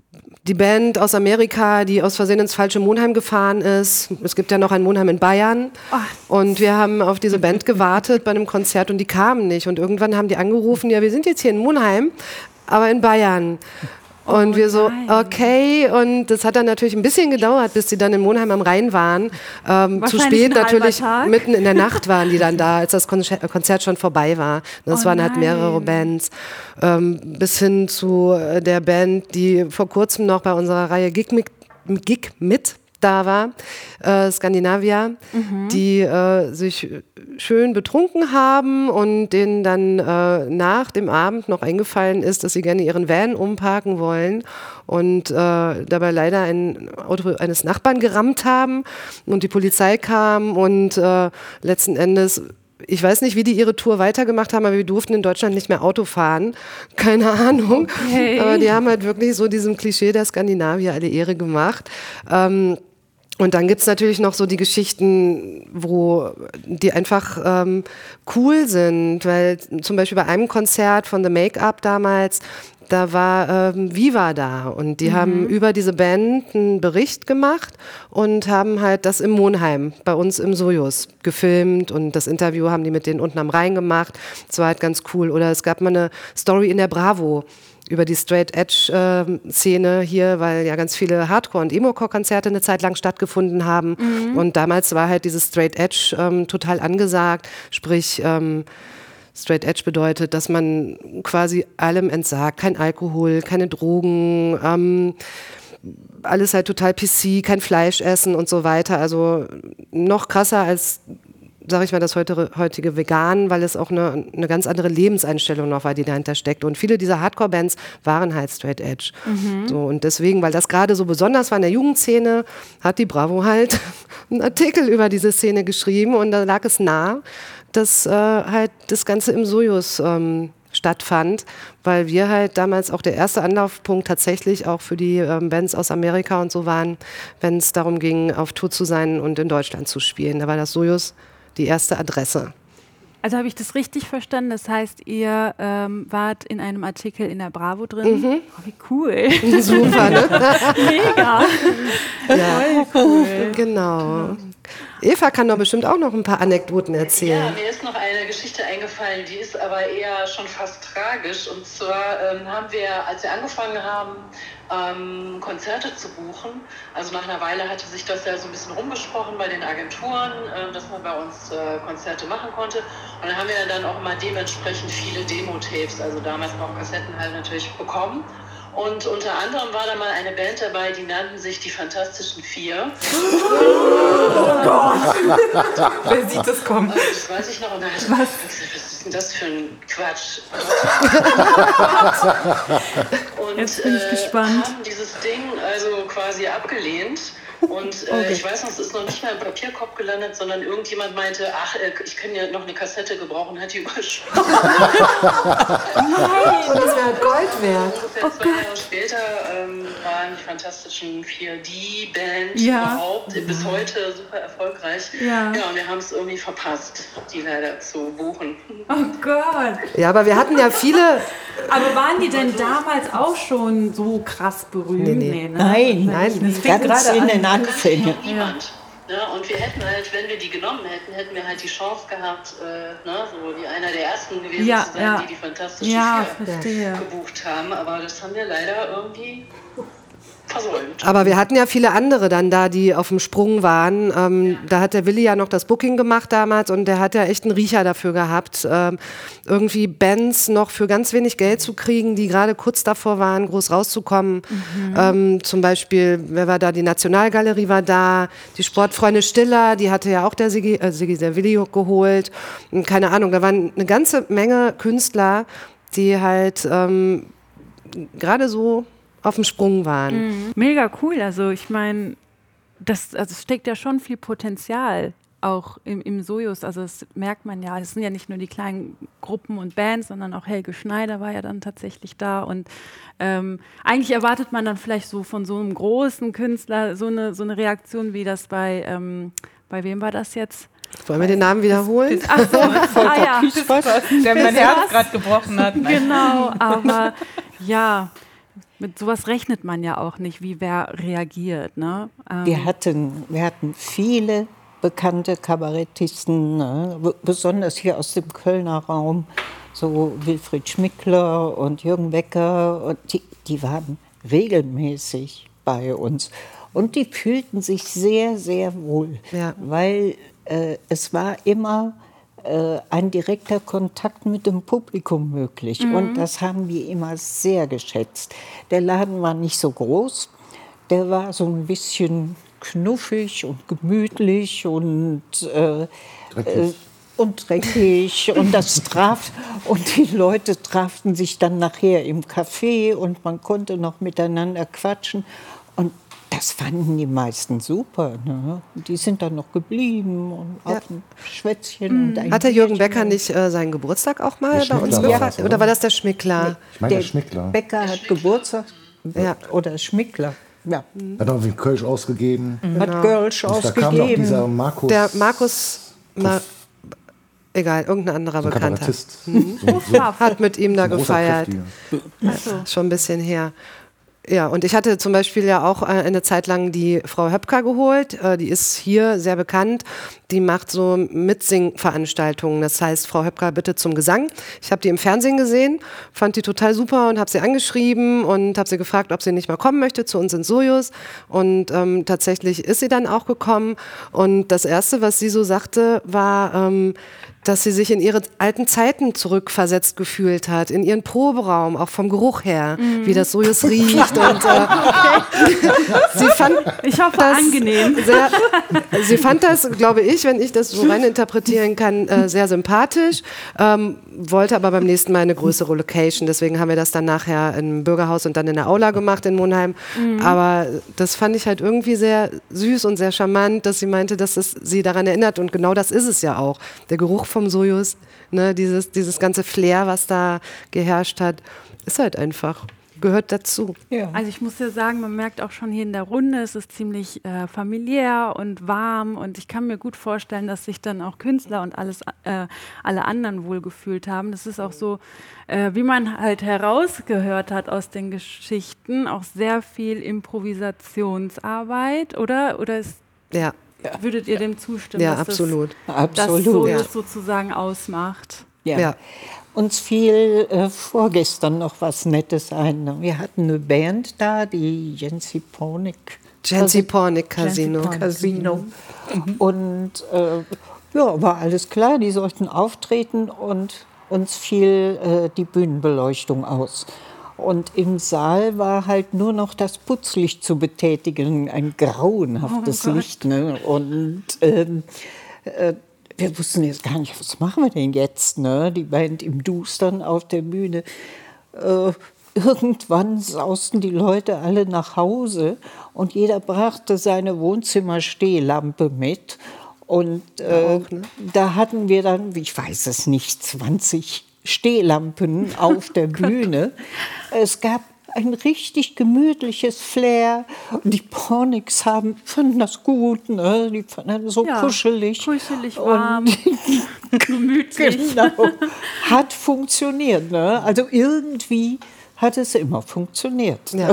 die Band aus Amerika, die aus Versehen ins falsche Monheim gefahren ist. Es gibt ja noch ein Monheim in Bayern. Und wir haben auf diese Band gewartet bei einem Konzert und die kamen nicht. Und irgendwann haben die angerufen, ja, wir sind jetzt hier in Monheim, aber in Bayern. Und oh wir so, okay, und das hat dann natürlich ein bisschen gedauert, bis die dann in Monheim am Rhein waren. Ähm, zu spät natürlich, mitten in der Nacht waren die dann da, als das Konzert schon vorbei war. Das oh waren halt mehrere Bands. Ähm, bis hin zu der Band, die vor kurzem noch bei unserer Reihe Gig mit, Gig mit da war, äh, Skandinavia, mhm. die äh, sich schön betrunken haben und denen dann äh, nach dem Abend noch eingefallen ist, dass sie gerne ihren Van umparken wollen und äh, dabei leider ein Auto eines Nachbarn gerammt haben und die Polizei kam und äh, letzten Endes, ich weiß nicht, wie die ihre Tour weitergemacht haben, aber wir durften in Deutschland nicht mehr Auto fahren. Keine Ahnung. Okay. Aber die haben halt wirklich so diesem Klischee der Skandinavier alle Ehre gemacht. Ähm, Und dann gibt's natürlich noch so die Geschichten, wo die einfach ähm, cool sind, weil zum Beispiel bei einem Konzert von The Make-up damals, da war ähm, Viva da und die mhm. haben über diese Band einen Bericht gemacht und haben halt das im Monheim bei uns im Sojus gefilmt und das Interview haben die mit denen unten am Rhein gemacht. Das war halt ganz cool. Oder es gab mal eine Story in der Bravo über die Straight-Edge-Szene hier, weil ja ganz viele Hardcore- und Emo-Core-Konzerte eine Zeit lang stattgefunden haben. Mhm. Und damals war halt dieses Straight-Edge ähm, total angesagt. Sprich, ähm, Straight-Edge bedeutet, dass man quasi allem entsagt. Kein Alkohol, keine Drogen, ähm, alles halt total P C, kein Fleisch essen und so weiter. Also noch krasser als, sage ich mal, das heute, heutige Vegan, weil es auch eine, eine ganz andere Lebenseinstellung noch war, die dahinter steckt. Und viele dieser Hardcore-Bands waren halt Straight Edge. Mhm. So, und deswegen, weil das gerade so besonders war in der Jugendszene, hat die Bravo halt einen Artikel über diese Szene geschrieben und da lag es nah, dass äh, halt das Ganze im Sojus ähm, stattfand, weil wir halt damals auch der erste Anlaufpunkt tatsächlich auch für die ähm, Bands aus Amerika und so waren, wenn es darum ging, auf Tour zu sein und in Deutschland zu spielen. Da war das Sojus die erste Adresse. Also habe ich das richtig verstanden? Das heißt, ihr ähm, wart in einem Artikel in der Bravo drin? Mhm. Oh, wie cool. Super, ne? Mega. Ja. Cool. Genau. Eva kann doch bestimmt auch noch ein paar Anekdoten erzählen. Ja, mir ist noch eine Geschichte eingefallen, die ist aber eher schon fast tragisch. Und zwar ähm, haben wir, als wir angefangen haben, ähm, Konzerte zu buchen, also nach einer Weile hatte sich das ja so ein bisschen rumgesprochen bei den Agenturen, äh, dass man bei uns äh, Konzerte machen konnte. Und dann haben wir dann auch immer dementsprechend viele Demo-Tapes, also damals noch Kassetten halt natürlich bekommen. Und unter anderem war da mal eine Band dabei, die nannten sich die Fantastischen Vier. Oh Gott! Wer sieht das kommen? Das weiß ich noch. Und da was? was ist denn das für ein Quatsch? Und jetzt bin ich äh, gespannt. haben dieses Ding also quasi abgelehnt. Und äh, okay. ich weiß noch, es ist noch nicht mal im Papierkorb gelandet, sondern irgendjemand meinte, ach, äh, ich kann ja noch eine Kassette gebrauchen, hat die überschrieben. Nein, das wäre Gold wert. Ungefähr oh zwei Gott. Jahre später ähm, waren die Fantastischen Vier die Band ja. überhaupt, bis heute super erfolgreich. Ja, ja und wir haben es irgendwie verpasst, die leider zu buchen. Oh Gott. Ja, aber wir hatten ja viele... Aber waren die denn damals auch schon so krass berühmt? Nee, nee. Nee, ne? Nein, nein, das fing ganz in den Anfängen. Niemand. Ja, und wir hätten halt, wenn wir die genommen hätten, hätten wir halt die Chance gehabt, äh, ne, so die einer der ersten gewesen ja, zu sein, ja. die die Fantastischen ja, Vier gebucht haben. Aber das haben wir leider irgendwie versäumt. Aber wir hatten ja viele andere dann da, die auf dem Sprung waren. Ähm, ja. Da hat der Willi ja noch das Booking gemacht damals und der hat ja echt einen Riecher dafür gehabt, ähm, irgendwie Bands noch für ganz wenig Geld zu kriegen, die gerade kurz davor waren, groß rauszukommen. Mhm. Ähm, zum Beispiel, wer war da? Die Nationalgalerie war da, die Sportfreunde Stiller, die hatte ja auch der Sigi, äh, Sigi der Willi geholt. Und keine Ahnung, da waren eine ganze Menge Künstler, die halt ähm, gerade so auf dem Sprung waren. Mhm. Mega cool. Also ich meine, das also es steckt ja schon viel Potenzial auch im, im Sojus. Also das merkt man ja. Es sind ja nicht nur die kleinen Gruppen und Bands, sondern auch Helge Schneider war ja dann tatsächlich da. Und ähm, eigentlich erwartet man dann vielleicht so von so einem großen Künstler so eine, so eine Reaktion, wie das bei, ähm, bei wem war das jetzt? Wollen wir den Namen wiederholen? Ach so, ah, ja. Der mein Herz gerade gebrochen hat. Genau, aber ja, Mit sowas rechnet man ja auch nicht, wie wer reagiert. Ne? Ähm, Wir hatten, wir hatten viele bekannte Kabarettisten, ne? B- besonders hier aus dem Kölner Raum, so Wilfried Schmickler und Jürgen Becker, und die, die waren regelmäßig bei uns. Und die fühlten sich sehr, sehr wohl, Ja. weil äh, es war immer äh, ein direkter Kontakt mit dem Publikum möglich. Und das haben wir immer sehr geschätzt. Der Laden war nicht so groß, der war so ein bisschen knuffig und gemütlich und, äh, äh, und dreckig. Und das traf, und die Leute traften sich dann nachher im Café und man konnte noch miteinander quatschen. Und das fanden die meisten super. Ne? Die sind dann noch geblieben und Ja. auf ein Schwätzchen. Und ein Hat der Jürgen Bierchen. Becker nicht äh, seinen Geburtstag auch mal Der bei uns Schmickler war gefeiert? das, Oder war das der Schmickler? Ich meine, der Der Schmickler. Becker hat Geburtstag. Ja. Oder Schmickler. Ja. Hat auch wie Kölsch ausgegeben. Hat Girls Und da kam noch ausgegeben. dieser Markus, Der Markus, Ma egal, irgendein anderer so ein Bekannter, Kabarettist. So, so, hat mit ihm da ein großer, gefeiert. kräftiger. Schon ein bisschen her. Ja, und ich hatte zum Beispiel ja auch äh, eine Zeit lang die Frau Höpker geholt. Äh, die ist hier sehr bekannt. Die macht so Mitsing-Veranstaltungen. Das heißt, Frau Höpker bitte zum Gesang. Ich habe die im Fernsehen gesehen, fand die total super und habe sie angeschrieben und habe sie gefragt, ob sie nicht mal kommen möchte zu uns in Sojus. Und ähm, tatsächlich ist sie dann auch gekommen. Und das Erste, was sie so sagte, war, ähm, dass sie sich in ihre alten Zeiten zurückversetzt gefühlt hat, in ihren Proberaum, auch vom Geruch her, wie das Sojus riecht. Und, äh, sie fand Ich hoffe, das angenehm. Sehr, sie fand das, glaube ich, wenn ich das so rein interpretieren kann, äh, sehr sympathisch, ähm, wollte aber beim nächsten Mal eine größere Location. Deswegen haben wir das dann nachher im Bürgerhaus und dann in der Aula gemacht in Monheim. Aber das fand ich halt irgendwie sehr süß und sehr charmant, dass sie meinte, dass es sie daran erinnert. Und genau das ist es ja auch. Der Geruch vom Sojus, ne, dieses, dieses ganze Flair, was da geherrscht hat, ist halt einfach, gehört dazu. Ja. Also ich muss ja sagen, man merkt auch schon hier in der Runde, es ist ziemlich äh, familiär und warm, und ich kann mir gut vorstellen, dass sich dann auch Künstler und alles, äh, alle anderen wohlgefühlt haben. Das ist auch so, äh, wie man halt herausgehört hat aus den Geschichten, auch sehr viel Improvisationsarbeit, oder? Oder ist, Ja, würdet ihr dem zustimmen, ja, dass absolut. das, das Absolut. Sojus Ja. sozusagen ausmacht? Ja. Ja. Uns fiel äh, vorgestern noch was Nettes ein. Wir hatten eine Band da, die Jensi Pornick. Jensi Pornick Casino. Jensi Casino. Und äh, ja, war alles klar, die sollten auftreten, und uns fiel äh, die Bühnenbeleuchtung aus. Und im Saal war halt nur noch das Putzlicht zu betätigen, ein grauenhaftes Oh Gott. Licht. Ne? Und ähm, äh, wir wussten jetzt gar nicht, was machen wir denn jetzt? Ne? Die Band im Dustern auf der Bühne. Äh, irgendwann sausten die Leute alle nach Hause und jeder brachte seine Wohnzimmerstehlampe mit. Und äh, da hatten wir dann, ich weiß es nicht, zwanzig Stehlampen auf der Bühne. Es gab ein richtig gemütliches Flair. Und die Pornicks haben, fanden das gut, ne? Die fanden das so Ja, kuschelig. kuschelig, Und- warm, gemütlich. Genau. Hat funktioniert. Ne? Also irgendwie hat es immer funktioniert. Ja.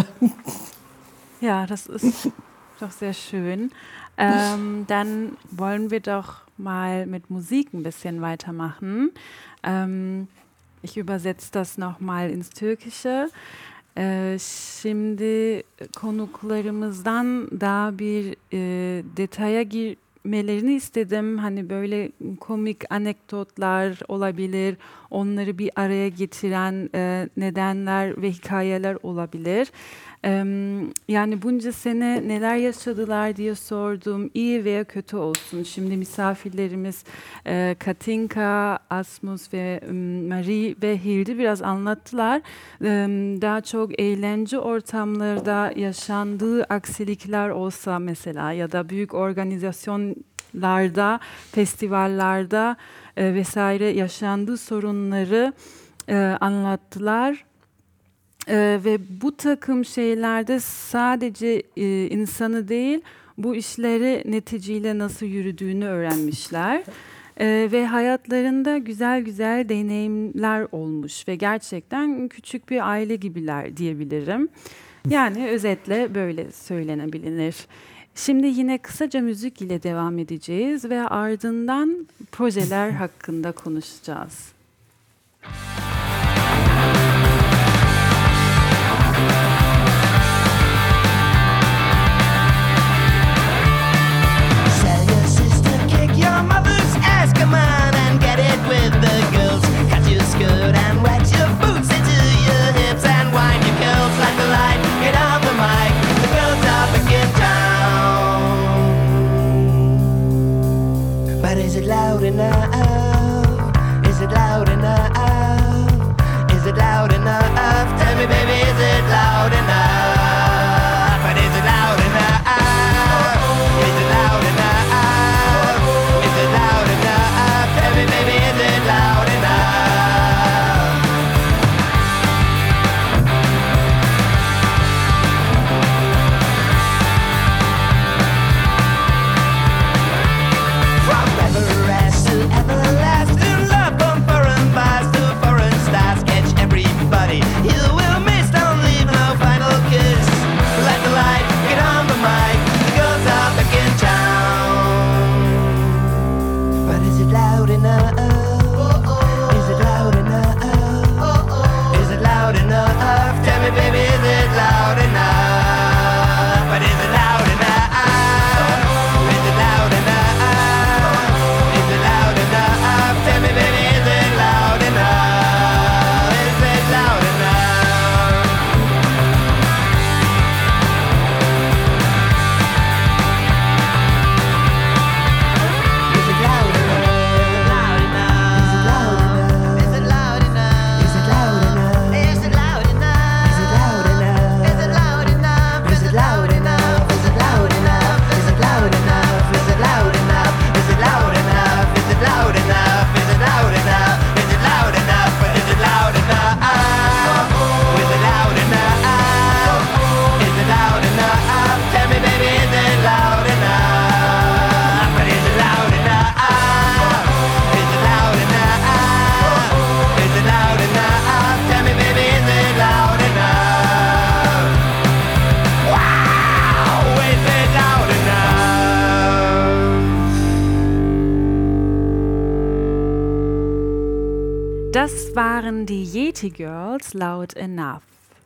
Ja, das ist doch sehr schön. Ähm, dann wollen wir doch mal mit Musik ein bisschen weitermachen. Ähm, ich übersetze das nochmal ins Türkische. Ee, şimdi konuklarımızdan daha bir e, detaya girmelerini istedim. Hani böyle komik anekdotlar olabilir, onları bir araya getiren e, nedenler ve hikayeler olabilir. Ee, yani bunca sene neler yaşadılar diye sordum. İyi veya kötü olsun. Şimdi misafirlerimiz e, Katinka, Asmus ve um, Marie ve Hildi biraz anlattılar. Ee, daha çok eğlence ortamlarda yaşandığı aksilikler olsa mesela, ya da büyük organizasyonlarda, festivallerde e, vesaire yaşandığı sorunları e, anlattılar. Ee, ve bu takım şeylerde sadece e, insanı değil, bu işleri neticeyle nasıl yürüdüğünü öğrenmişler. Ee, ve hayatlarında güzel güzel deneyimler olmuş ve gerçekten küçük bir aile gibiler diyebilirim. Yani özetle böyle söylenebilir. Şimdi yine kısaca müzik ile devam edeceğiz ve ardından projeler hakkında konuşacağız. Come on and get it with the girls. Cut your skirt and wet your boots into your hips and wind your curls like the light. Get on the mic, the girls are back in town. But is it loud enough? Is it loud enough? Is it loud enough? Tell me, baby, is it loud enough? But is it loud enough? Is it loud enough? Baby, is it loud enough? From Everest to everlasting love, from foreign bars to foreign stars, catch everybody. You will miss, don't leave no final kiss. Let the light get on the mic, the girls are back in town. But is it loud enough? Baby, is it loud enough? But is it loud enough? Is it loud enough? Is it loud enough? Tell me, baby, is it loud enough? Is it loud enough? Is it loud enough? Is it loud enough? Is it loud enough? Is it loud enough? Is it loud enough? Is it loud enough? Is it loud enough? Is it loud enough? Is it loud enough? Is it loud enough? Is it loud enough? Is it loud enough? Is it loud enough? Is it loud enough? Is it loud enough? But is it loud enough? Is it loud enough? Is it loud enough? Tell me, baby, is it loud enough? But is it loud enough? Is it loud enough? Is it loud enough? Tell me, baby, is it loud enough? Wow, is it loud enough? Das waren die Yeti Girls, Loud Enough.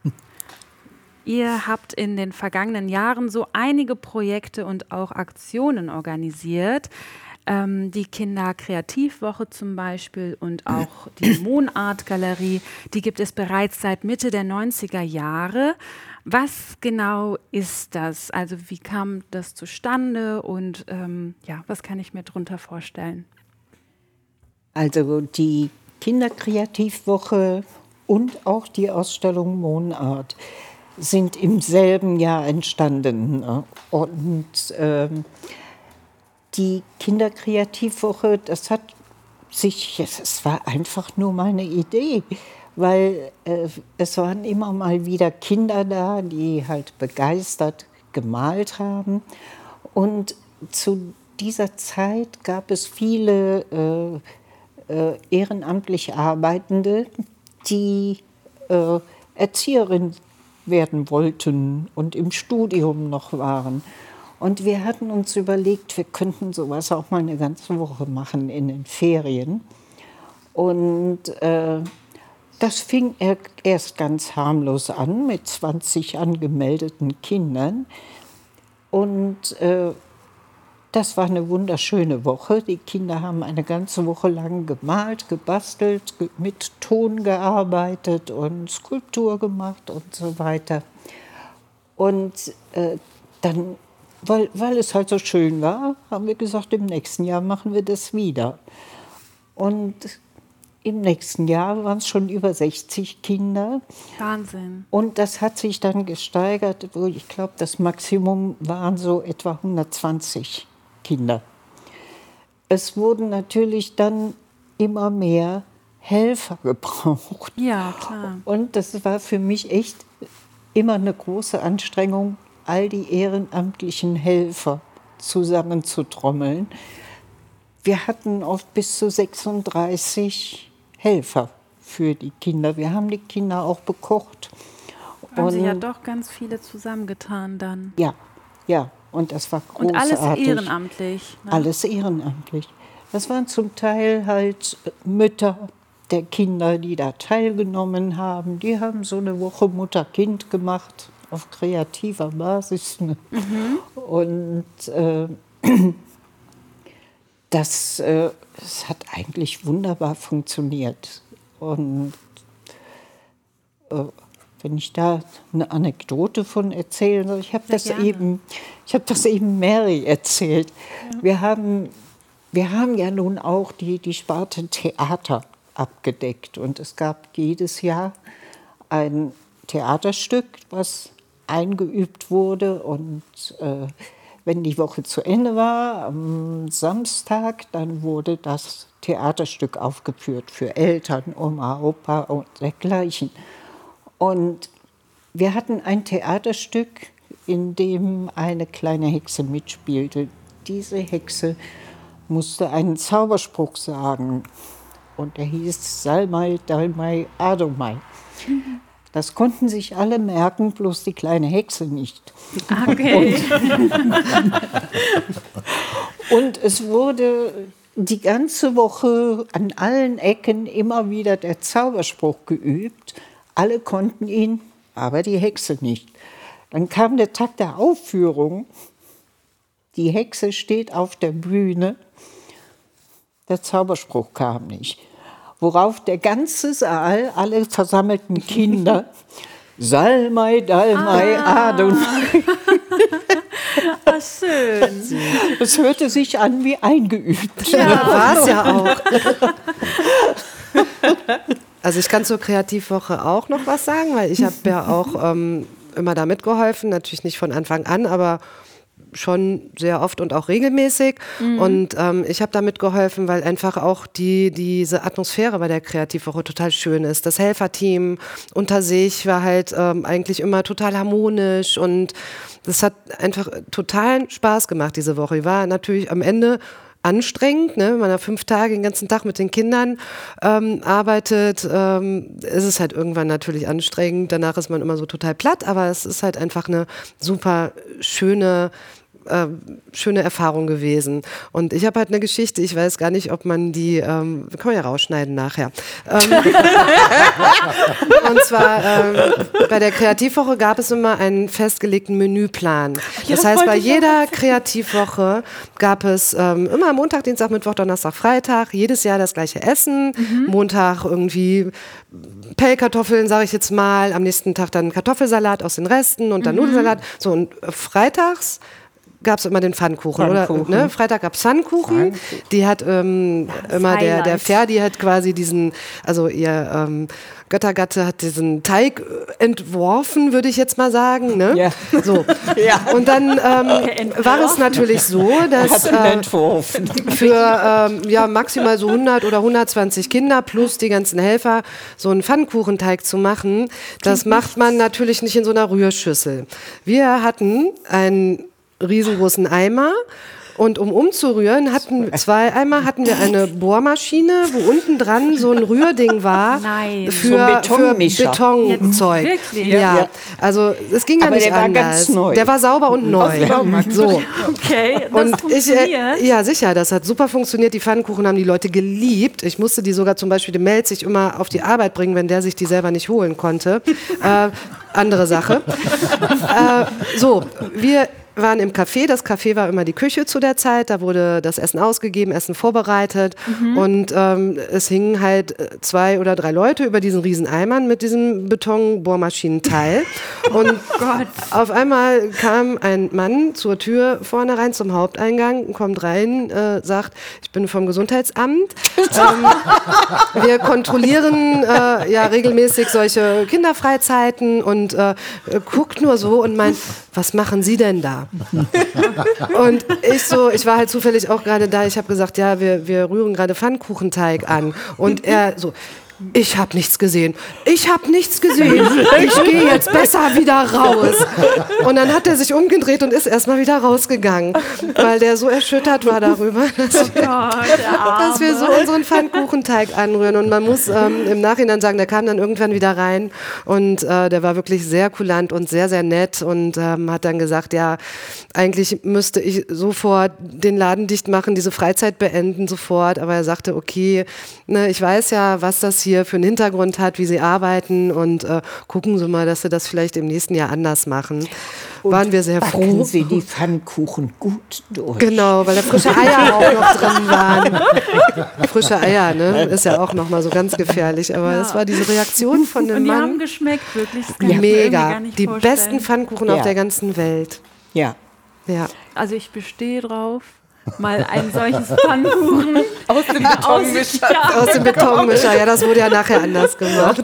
Ihr habt in den vergangenen Jahren so einige Projekte und auch Aktionen organisiert. Ähm, die Kinderkreativwoche zum Beispiel und auch die Monart-Galerie, die gibt es bereits seit Mitte der neunziger Jahre. Was genau ist das? Also wie kam das zustande und ähm, ja, was kann ich mir darunter vorstellen? Also die Kinderkreativwoche und auch die Ausstellung Monart sind im selben Jahr entstanden. Ne? Und ähm, die Kinderkreativwoche, das hat sich, es war einfach nur mal eine Idee, weil äh, es waren immer mal wieder Kinder da, die halt begeistert gemalt haben. Und zu dieser Zeit gab es viele äh, äh, ehrenamtlich Arbeitende, die äh, Erzieherin werden wollten und im Studium noch waren. Und wir hatten uns überlegt, wir könnten sowas auch mal eine ganze Woche machen in den Ferien. Und äh, das fing erst ganz harmlos an mit zwanzig angemeldeten Kindern. Und äh, das war eine wunderschöne Woche. Die Kinder haben eine ganze Woche lang gemalt, gebastelt, ge- mit Ton gearbeitet und Skulptur gemacht und so weiter. Und äh, dann, weil, weil es halt so schön war, haben wir gesagt, im nächsten Jahr machen wir das wieder. Und im nächsten Jahr waren es schon über sechzig Kinder. Wahnsinn. Und das hat sich dann gesteigert, wo ich glaube, das Maximum waren so etwa hundertzwanzig Kinder. Es wurden natürlich dann immer mehr Helfer gebraucht. Ja, klar. Und das war für mich echt immer eine große Anstrengung, all die ehrenamtlichen Helfer zusammenzutrommeln. wir hatten oft bis zu sechsunddreißig Helfer für die Kinder. Wir haben die Kinder auch bekocht. Haben Sie ja Und- doch ganz viele zusammengetan dann. Ja, ja, und das war Und großartig. alles ehrenamtlich. Ne? Alles ehrenamtlich. Das waren zum Teil halt Mütter der Kinder, die da teilgenommen haben. Die haben so eine Woche Mutter-Kind gemacht, auf kreativer Basis. Ne? Und äh, das, äh, das hat eigentlich wunderbar funktioniert. Und äh, wenn ich da eine Anekdote von erzählen soll, ich habe das gerne. eben, ich habe das eben Mary erzählt. Wir haben, wir haben ja nun auch die, die Sparte Theater abgedeckt und es gab jedes Jahr ein Theaterstück, was eingeübt wurde und äh, wenn die Woche zu Ende war, am Samstag, dann wurde das Theaterstück aufgeführt für Eltern, Oma, Opa und dergleichen. Und wir hatten ein Theaterstück, in dem eine kleine Hexe mitspielte. Diese Hexe musste einen Zauberspruch sagen. Und der hieß Salmai, Dalmai, Adomai. Das konnten sich alle merken, bloß die kleine Hexe nicht. Okay. Und es wurde die ganze Woche an allen Ecken immer wieder der Zauberspruch geübt. Alle konnten ihn, aber die Hexe nicht. Dann kam der Tag der Aufführung. Die Hexe steht auf der Bühne. Der Zauberspruch kam nicht. Worauf der ganze Saal, alle versammelten Kinder, Salmai, Dalmai, Ah. Adonai. Ach, schön. Es hörte sich an wie eingeübt. War es ja auch. Also ich kann zur Kreativwoche auch noch was sagen, weil ich habe ja auch ähm, immer da mitgeholfen, natürlich nicht von Anfang an, aber schon sehr oft und auch regelmäßig. Mhm. Und ähm, ich habe da mitgeholfen, weil einfach auch die, diese Atmosphäre bei der Kreativwoche total schön ist. Das Helferteam unter sich war halt ähm, eigentlich immer total harmonisch und das hat einfach totalen Spaß gemacht diese Woche. Ich war natürlich am Ende anstrengend, ne? Wenn man da fünf Tage den ganzen Tag mit den Kindern ähm, arbeitet, ähm, ist es halt irgendwann natürlich anstrengend. Danach ist man immer so total platt, aber es ist halt einfach eine super schöne äh, schöne Erfahrung gewesen. Und ich habe halt eine Geschichte, ich weiß gar nicht, ob man die, ähm, kann man ja rausschneiden nachher. Ähm, und zwar ähm, bei der Kreativwoche gab es immer einen festgelegten Menüplan. Das heißt, bei jeder Kreativwoche gab es ähm, immer Montag, Dienstag, Mittwoch, Donnerstag, Freitag, jedes Jahr das gleiche Essen. Montag irgendwie Pellkartoffeln, sage ich jetzt mal, am nächsten Tag dann Kartoffelsalat aus den Resten und dann Nudelsalat. So, und freitags gab es immer den Pfannkuchen, Pfannkuchen. oder? Ne? Freitag gab es Pfannkuchen. Die hat ähm, immer der, der Highlight. Ferdi hat quasi diesen, also ihr ähm, Göttergatte hat diesen Teig äh, entworfen, würde ich jetzt mal sagen. Ne? Ja. So. Ja. Und dann ähm, war es natürlich so, dass Hat ihn äh, entworfen. für ähm, ja, maximal so hundert oder hundertzwanzig Kinder plus die ganzen Helfer so einen Pfannkuchenteig zu machen, das macht man natürlich nicht in so einer Rührschüssel. Wir hatten einen riesengroßen Eimer und um umzurühren, hatten zwei Eimer, hatten wir eine Bohrmaschine, wo unten dran so ein Rührding war Nein. für, So ein für Betonmischer. Betonzeug. Jetzt wirklich? Ja, Ja. also es ging ja Aber nicht der war anders. ganz neu. Der war sauber und neu. So. Okay, das Und ich, funktioniert. äh, ja, sicher, das hat super funktioniert. Die Pfannkuchen haben die Leute geliebt. Ich musste die sogar zum Beispiel dem Melzig immer auf die Arbeit bringen, wenn der sich die selber nicht holen konnte. äh, andere Sache. äh, so, wir waren im Café. Das Café war immer die Küche zu der Zeit. Da wurde das Essen ausgegeben, Essen vorbereitet. Und ähm, es hingen halt äh, zwei oder drei Leute über diesen riesen Eimern mit diesem Betonbohrmaschinenteil. Und auf einmal kam ein Mann zur Tür vorne rein zum Haupteingang, kommt rein, äh, sagt, ich bin vom Gesundheitsamt. ähm, wir kontrollieren äh, ja regelmäßig solche Kinderfreizeiten und äh, guckt nur so und meint, was machen Sie denn da? Und ich so, ich war halt zufällig auch gerade da, ich habe gesagt, ja, wir, wir rühren gerade Pfannkuchenteig an. Und er so, ich habe nichts gesehen. Ich habe nichts gesehen. Ich gehe jetzt besser wieder raus. Und dann hat er sich umgedreht und ist erstmal wieder rausgegangen, weil der so erschüttert war darüber, dass wir, dass wir so unseren Pfannkuchenteig anrühren. Und man muss ähm, im Nachhinein sagen, der kam dann irgendwann wieder rein und äh, der war wirklich sehr kulant und sehr, sehr nett und ähm, hat dann gesagt, ja, eigentlich müsste ich sofort den Laden dicht machen, diese Freizeit beenden sofort. Aber er sagte, okay, ne, ich weiß ja, was das hier für einen Hintergrund hat, wie sie arbeiten und äh, gucken Sie mal, dass Sie das vielleicht im nächsten Jahr anders machen. Und waren wir sehr backen froh. Sie die Pfannkuchen gut durch. Genau, weil da frische Eier auch noch drin waren. Frische Eier, ne? Ist ja auch noch mal so ganz gefährlich. Aber Ja. das war diese Reaktion von dem Und die Mann. haben geschmeckt, wirklich. Das kann ich mir irgendwie Mega. gar nicht Die vorstellen. besten Pfannkuchen Ja. auf der ganzen Welt. Ja. Ja. Also ich bestehe drauf, mal ein solches Pfannkuchen Aus dem Betonmischer. Ja. Aus dem Betonmischer. Ja, das wurde ja nachher anders gemacht.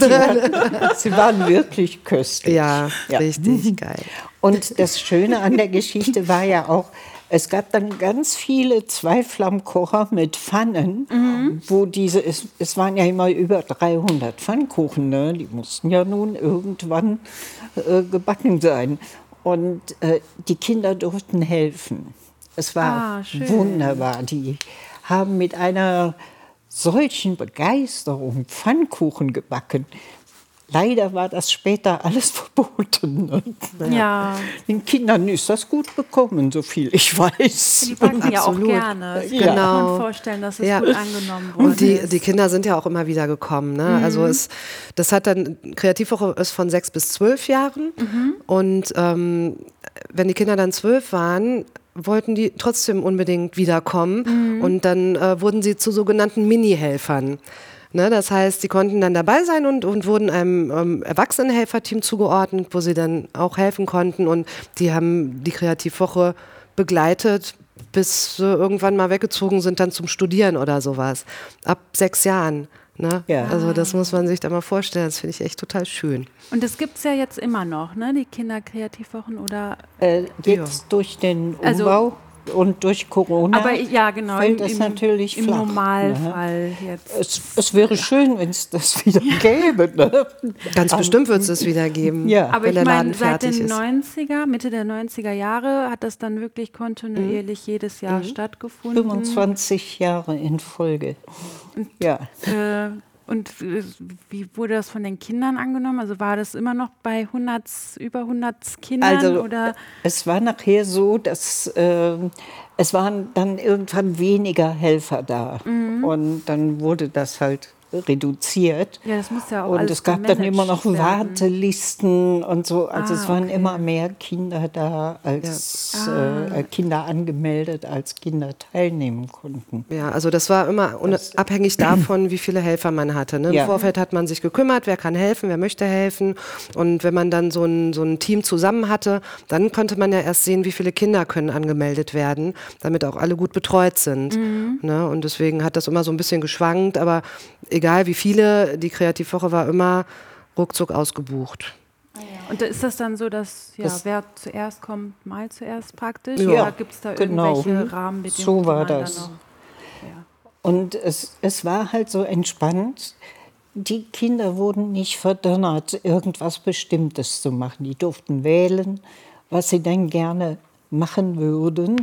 Sie waren wirklich köstlich. Ja, Ja. richtig geil. Und das Schöne an der Geschichte war ja auch, es gab dann ganz viele Zweiflammkocher mit Pfannen, wo diese, es, es waren ja immer über dreihundert Pfannkuchen, ne? Die mussten ja nun irgendwann äh, gebacken sein. Und äh, die Kinder durften helfen. Es war Ah, schön. wunderbar. Die haben mit einer solchen Begeisterung Pfannkuchen gebacken. Leider war das später alles verboten. Ne? Ja, Den Kindern ist das gut bekommen, so viel ich weiß. die backen ja auch Absolut. gerne. Das Genau. kann man vorstellen, dass es Ja. gut angenommen wurde. Und die, die Kinder sind ja auch immer wieder gekommen. Ne? Also es, das hat dann, Kreativwoche ist von sechs bis zwölf Jahren. Und ähm, wenn die Kinder dann zwölf waren, wollten die trotzdem unbedingt wiederkommen. Und dann äh, wurden sie zu sogenannten Mini-Helfern. Ne, das heißt, sie konnten dann dabei sein und, und wurden einem ähm, Erwachsenenhelferteam zugeordnet, wo sie dann auch helfen konnten. Und die haben die Kreativwoche begleitet, bis sie irgendwann mal weggezogen sind, dann zum Studieren oder sowas. Ab sechs Jahren. Ne? Ja. Also das muss man sich da mal vorstellen. Das finde ich echt total schön. Und das gibt es ja jetzt immer noch, ne? Die Kinderkreativwochen oder. Äh, jetzt durch den Also- Umbau und durch Corona Aber ja, genau. fällt im, das im, natürlich im flach. Normalfall Ne? jetzt. Es, es wäre schön, wenn es das wieder gäbe. Ne? Ganz bestimmt wird es es wieder geben, Ja. Aber wenn ich der Laden meine, seit fertig den ist. neunziger, Mitte der neunziger Jahre hat das dann wirklich kontinuierlich jedes Jahr stattgefunden. fünfundzwanzig Jahre in Folge. Ja. Äh, und äh, wie wurde das von den Kindern angenommen? Also war das immer noch bei hundert, über hundert Kindern? Also oder? es war nachher so, dass äh, es waren dann irgendwann weniger Helfer da. Mhm. Und dann wurde das halt reduziert. Ja, das muss ja auch Und alles es gab dann gemanagt immer noch werden. Wartelisten und so. Also Ah, es waren okay. immer mehr Kinder da, als Ah. äh, Kinder angemeldet, als Kinder teilnehmen konnten. Ja, also das war immer unabhängig davon, wie viele Helfer man hatte. Ne? Im Ja. Vorfeld hat man sich gekümmert, wer kann helfen, wer möchte helfen. Und wenn man dann so ein, so ein Team zusammen hatte, dann konnte man ja erst sehen, wie viele Kinder können angemeldet werden, damit auch alle gut betreut sind. Ne? Und deswegen hat das immer so ein bisschen geschwankt, aber egal wie viele, die Kreativwoche war immer ruckzuck ausgebucht. Und da ist das dann so, dass ja, Das- wer zuerst kommt, mal zuerst praktisch? Ja, Oder gibt es da genau. irgendwelche Mhm. Rahmenbedingungen? So war die man das. Dann noch, ja. Und es, es war halt so entspannt. Die Kinder wurden nicht verdonnert, irgendwas Bestimmtes zu machen. Die durften wählen, was sie denn gerne machen würden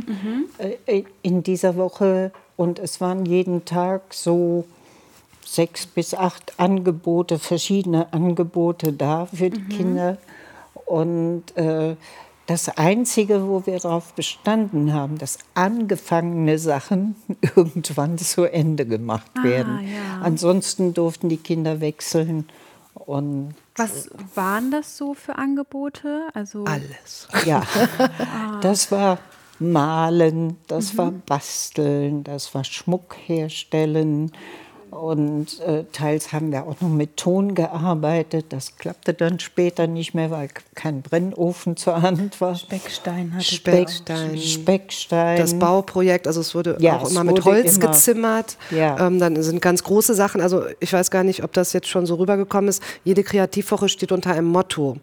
äh, in dieser Woche. Und es waren jeden Tag so sechs bis acht Angebote, verschiedene Angebote da für die Kinder. Und äh, das Einzige, wo wir darauf bestanden haben, dass angefangene Sachen irgendwann zu Ende gemacht werden. ja. Ansonsten durften die Kinder wechseln. Und Was waren das so für Angebote? Also Alles. ja, das war Malen, das war Basteln, das war Schmuck herstellen. Und äh, teils haben wir auch noch mit Ton gearbeitet. Das klappte dann später nicht mehr, weil kein Brennofen zur Hand war. Speckstein hatte Speckstein. Speckstein. Das Bauprojekt, also es wurde Ja, auch es immer mit wurde Holz immer- gezimmert. Ja. Ähm, dann sind ganz große Sachen, also ich weiß gar nicht, ob das jetzt schon so rübergekommen ist. Jede Kreativwoche steht unter einem Motto. Ah,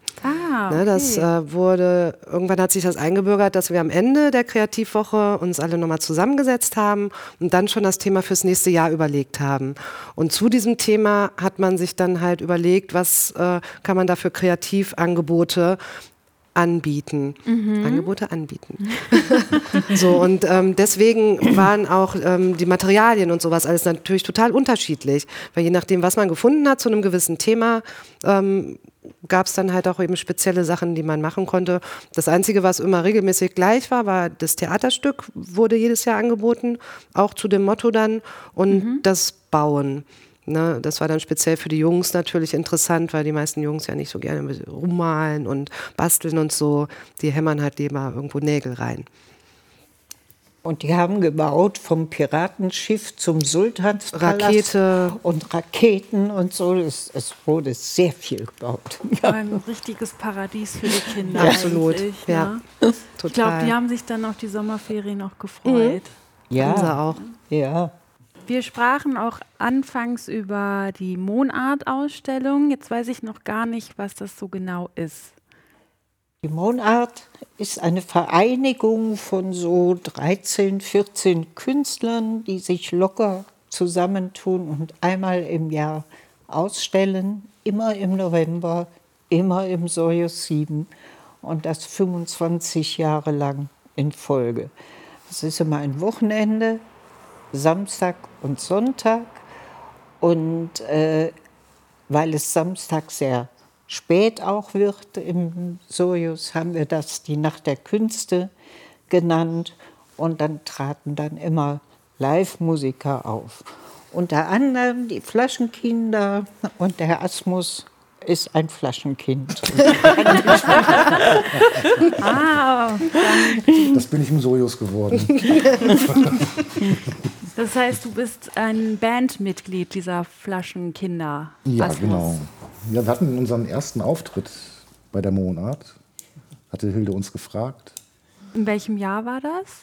Ah, Ne, das okay. äh, wurde, irgendwann hat sich das eingebürgert, dass wir am Ende der Kreativwoche uns alle nochmal zusammengesetzt haben und dann schon das Thema fürs nächste Jahr überlegt haben. Und zu diesem Thema hat man sich dann halt überlegt, was äh, kann man da für Kreativangebote anbieten. Angebote anbieten. So, und ähm, deswegen waren auch ähm, die Materialien und sowas alles natürlich total unterschiedlich, weil je nachdem, was man gefunden hat zu einem gewissen Thema, ähm, gab es dann halt auch eben spezielle Sachen, die man machen konnte. Das Einzige, was immer regelmäßig gleich war, war das Theaterstück, wurde jedes Jahr angeboten, auch zu dem Motto dann, und das Bauen. Ne, das war dann speziell für die Jungs natürlich interessant, weil die meisten Jungs ja nicht so gerne mit rummalen und basteln und so. Die hämmern halt lieber irgendwo Nägel rein. Und die haben gebaut vom Piratenschiff zum Sultanspalast. Rakete. Und Raketen und so. Es, es wurde sehr viel gebaut. Ein richtiges Paradies für die Kinder. Absolut, eigentlich, ja. Ne? Total. Ich glaube, die haben sich dann auf die Sommerferien auch gefreut. Ja, Haben sie auch. ja. Wir sprachen auch anfangs über die Monart-Ausstellung. Jetzt weiß ich noch gar nicht, was das so genau ist. Die Monart ist eine Vereinigung von so dreizehn, vierzehn Künstlern, die sich locker zusammentun und einmal im Jahr ausstellen. Immer im November, immer im Soyuz sieben und das fünfundzwanzig Jahre lang in Folge. Das ist immer ein Wochenende, Samstag und Sonntag. Und äh, weil es Samstag sehr spät auch wird im Soyuz, haben wir das die Nacht der Künste genannt. Und dann traten dann immer Live-Musiker auf. Unter anderem die Flaschenkinder, und der Asmus ist ein Flaschenkind. Ah, Das bin ich im Sojus geworden. das heißt, du bist ein Bandmitglied dieser Flaschenkinder. Ja, Asmus. genau. Ja, wir hatten unseren ersten Auftritt bei der Monat. Hatte Hilde uns gefragt. In welchem Jahr war das?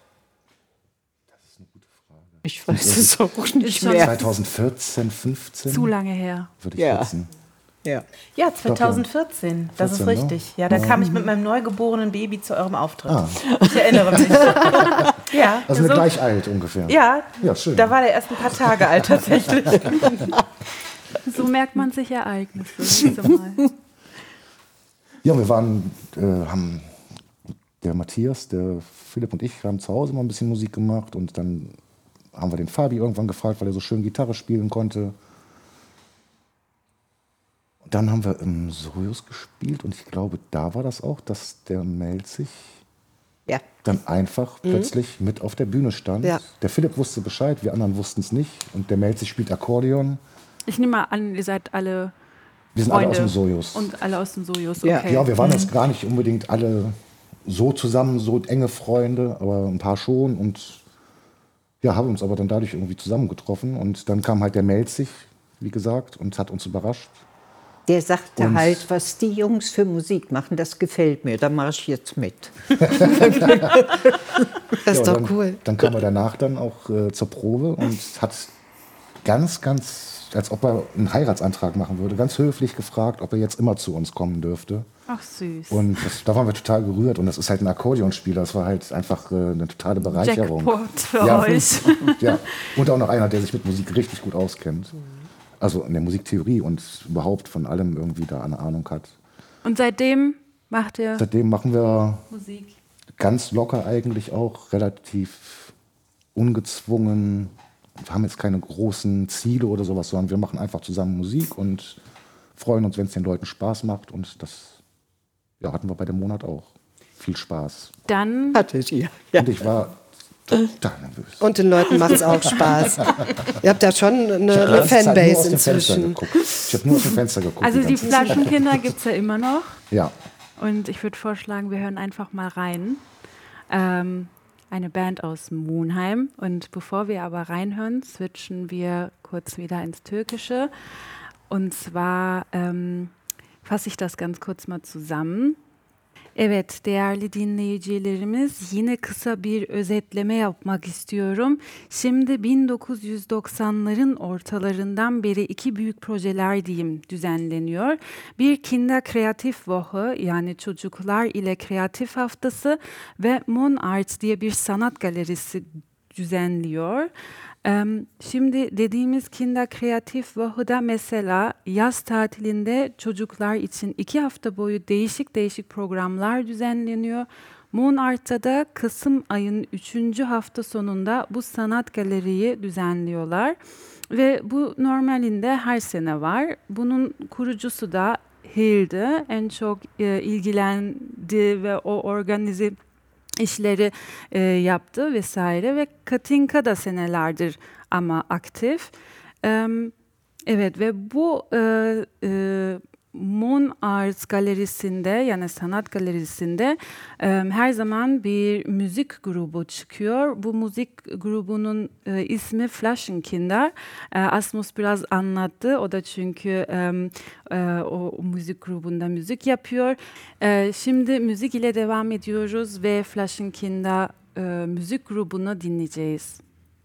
Ich weiß es auch nicht Ist schon mehr. zweitausendvierzehn, fünfzehn Zu lange her. würde ich Ja. schätzen. Ja. Ja, zweitausendvierzehn, das ist vierzehn, ne? richtig. Ja, da kam ich mit meinem neugeborenen Baby zu eurem Auftritt. Ah. Ich erinnere mich. Ja, Also eine so- gleich alt ungefähr. ja, Ja, schön. da war der erst ein paar Tage alt tatsächlich. So merkt man sich Ereignisse. Siehst du mal. Ja, wir waren, äh, haben der Matthias, der Philipp und ich haben zu Hause mal ein bisschen Musik gemacht und dann haben wir den Fabi irgendwann gefragt, weil er so schön Gitarre spielen konnte. Und dann haben wir im Sojus gespielt und ich glaube, da war das auch, dass der Melzig Ja. dann einfach plötzlich mit auf der Bühne stand. Ja. Der Philipp wusste Bescheid, wir anderen wussten es nicht. Und der Melzig spielt Akkordeon. Ich nehme mal an, ihr seid alle Wir sind Freunde alle aus dem Sojus. und alle aus dem Sojus. Ja. Okay. Ja, wir waren jetzt gar nicht unbedingt alle so zusammen, so enge Freunde, aber ein paar schon. Und ja, haben uns aber dann dadurch irgendwie zusammengetroffen. Und dann kam halt der Melzig, wie gesagt, und hat uns überrascht. Der sagte Und- halt, was die Jungs für Musik machen, das gefällt mir, da mache ich jetzt mit. Das ist Ja, doch dann, cool. Dann kam er danach dann auch äh, zur Probe und hat ganz, ganz, als ob er einen Heiratsantrag machen würde, ganz höflich gefragt, ob er jetzt immer zu uns kommen dürfte. Ach süß. Und das, da waren wir total gerührt. Und das ist halt ein Akkordeonspieler. Das war halt einfach äh, eine totale Bereicherung. Jackpot für ja, euch. ja. Und auch noch einer, der sich mit Musik richtig gut auskennt. Also in der Musiktheorie und überhaupt von allem irgendwie da eine Ahnung hat. Und seitdem macht ihr Seitdem machen wir Musik. ganz locker eigentlich auch, relativ ungezwungen. Wir haben jetzt keine großen Ziele oder sowas, sondern wir machen einfach zusammen Musik und freuen uns, wenn es den Leuten Spaß macht. Und das ja, hatten wir bei dem Monat auch. Viel Spaß. Dann Hattet ihr? Ja. Und ich war total nervös. Und den Leuten macht es auch Spaß. Ihr habt ja schon eine, Ich hab eine die ganze Zeit nur Fanbase aus dem Fenster inzwischen. geguckt. Ich habe nur aus dem Fenster geguckt. Also die ganze Zeit. Flaschenkinder gibt es ja immer noch. Ja. Und ich würde vorschlagen, wir hören einfach mal rein. Ähm, eine Band aus Monheim. Und bevor wir aber reinhören, switchen wir kurz wieder ins Türkische. Und zwar ähm, fasse ich das ganz kurz mal zusammen. Evet, değerli dinleyicilerimiz, yine kısa bir özetleme yapmak istiyorum. Şimdi bin dokuz yüz doksanların ortalarından beri iki büyük projeler diyeyim düzenleniyor. Bir Kinder Kreativwoche, yani çocuklar ile kreatif haftası ve Mon Art diye bir sanat galerisi düzenliyor. Şimdi dediğimiz Kinder Kreativwoche'da mesela yaz tatilinde çocuklar için iki hafta boyu değişik değişik programlar düzenleniyor. Mon Art'ta da Kasım ayının üçüncü hafta sonunda bu sanat galeriyi düzenliyorlar. Ve bu normalinde her sene var. Bunun kurucusu da Hilde, en çok e, ilgilendi ve o organize işleri e, yaptı vesaire ve Katinka da senelerdir ama aktif. E, evet ve bu e, e, Mon Arts galerisinde, yani sanat galerisinde e, her zaman bir müzik grubu çıkıyor. Bu müzik grubunun e, ismi Flaschenkinder. E, Asmus biraz anlattı. O da çünkü e, e, o, o müzik grubunda müzik yapıyor. E, şimdi müzik ile devam ediyoruz ve Flaschenkinder e, müzik grubunu dinleyeceğiz.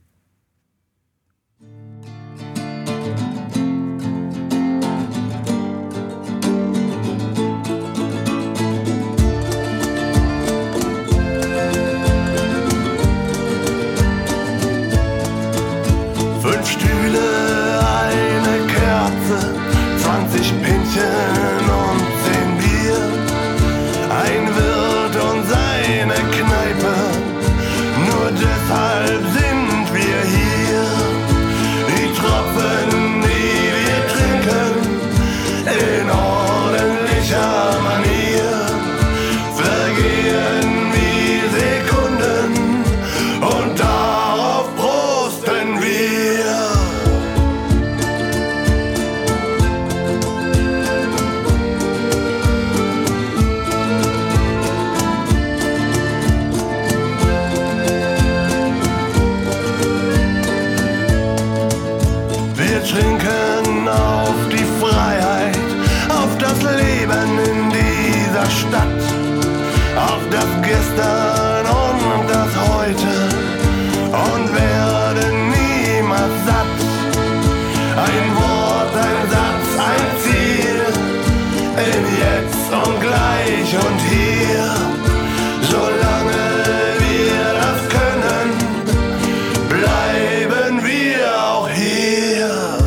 Fünf Stühle, eine Kerze, zwanzig Pinchen und zehn Bier. Ein Wirt und seine Kneipe, nur deshalb sind wir hier. Die Tropfen, die wir trinken, in ordentlicher Manier, vergehen wie Sekunden und darauf prosten wir. Wir trinken auf die Freiheit, auf das Leben in dieser Stadt, auf das Gestern und das Heute und werden niemals satt. Ein Wort, ein Satz, ein Ziel, in Jetzt und Gleich und Hier. Solange wir das können, bleiben wir auch hier.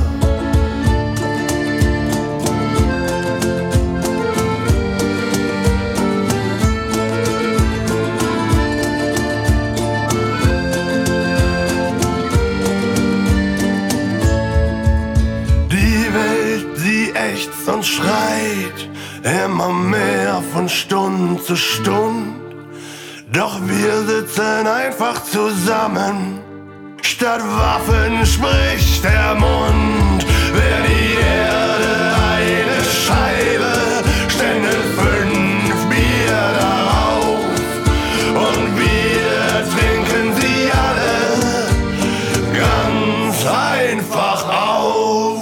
Die Welt, sie ächzt und schreit, immer mehr von Stund zu Stund. Doch wir sitzen einfach zusammen, statt Waffen spricht der Mund. Wär die Erde eine Scheibe, ständen fünf Bier darauf und wir trinken sie alle ganz einfach aus.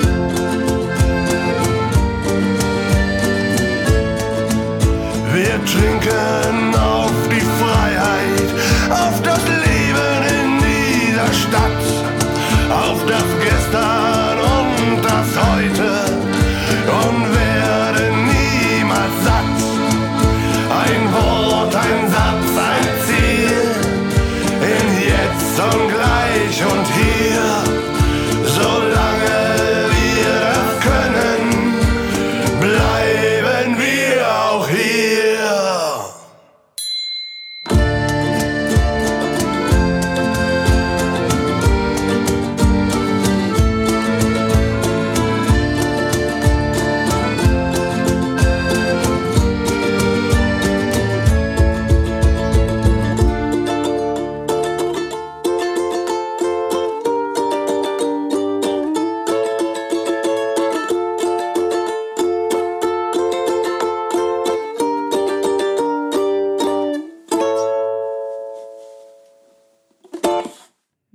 Wir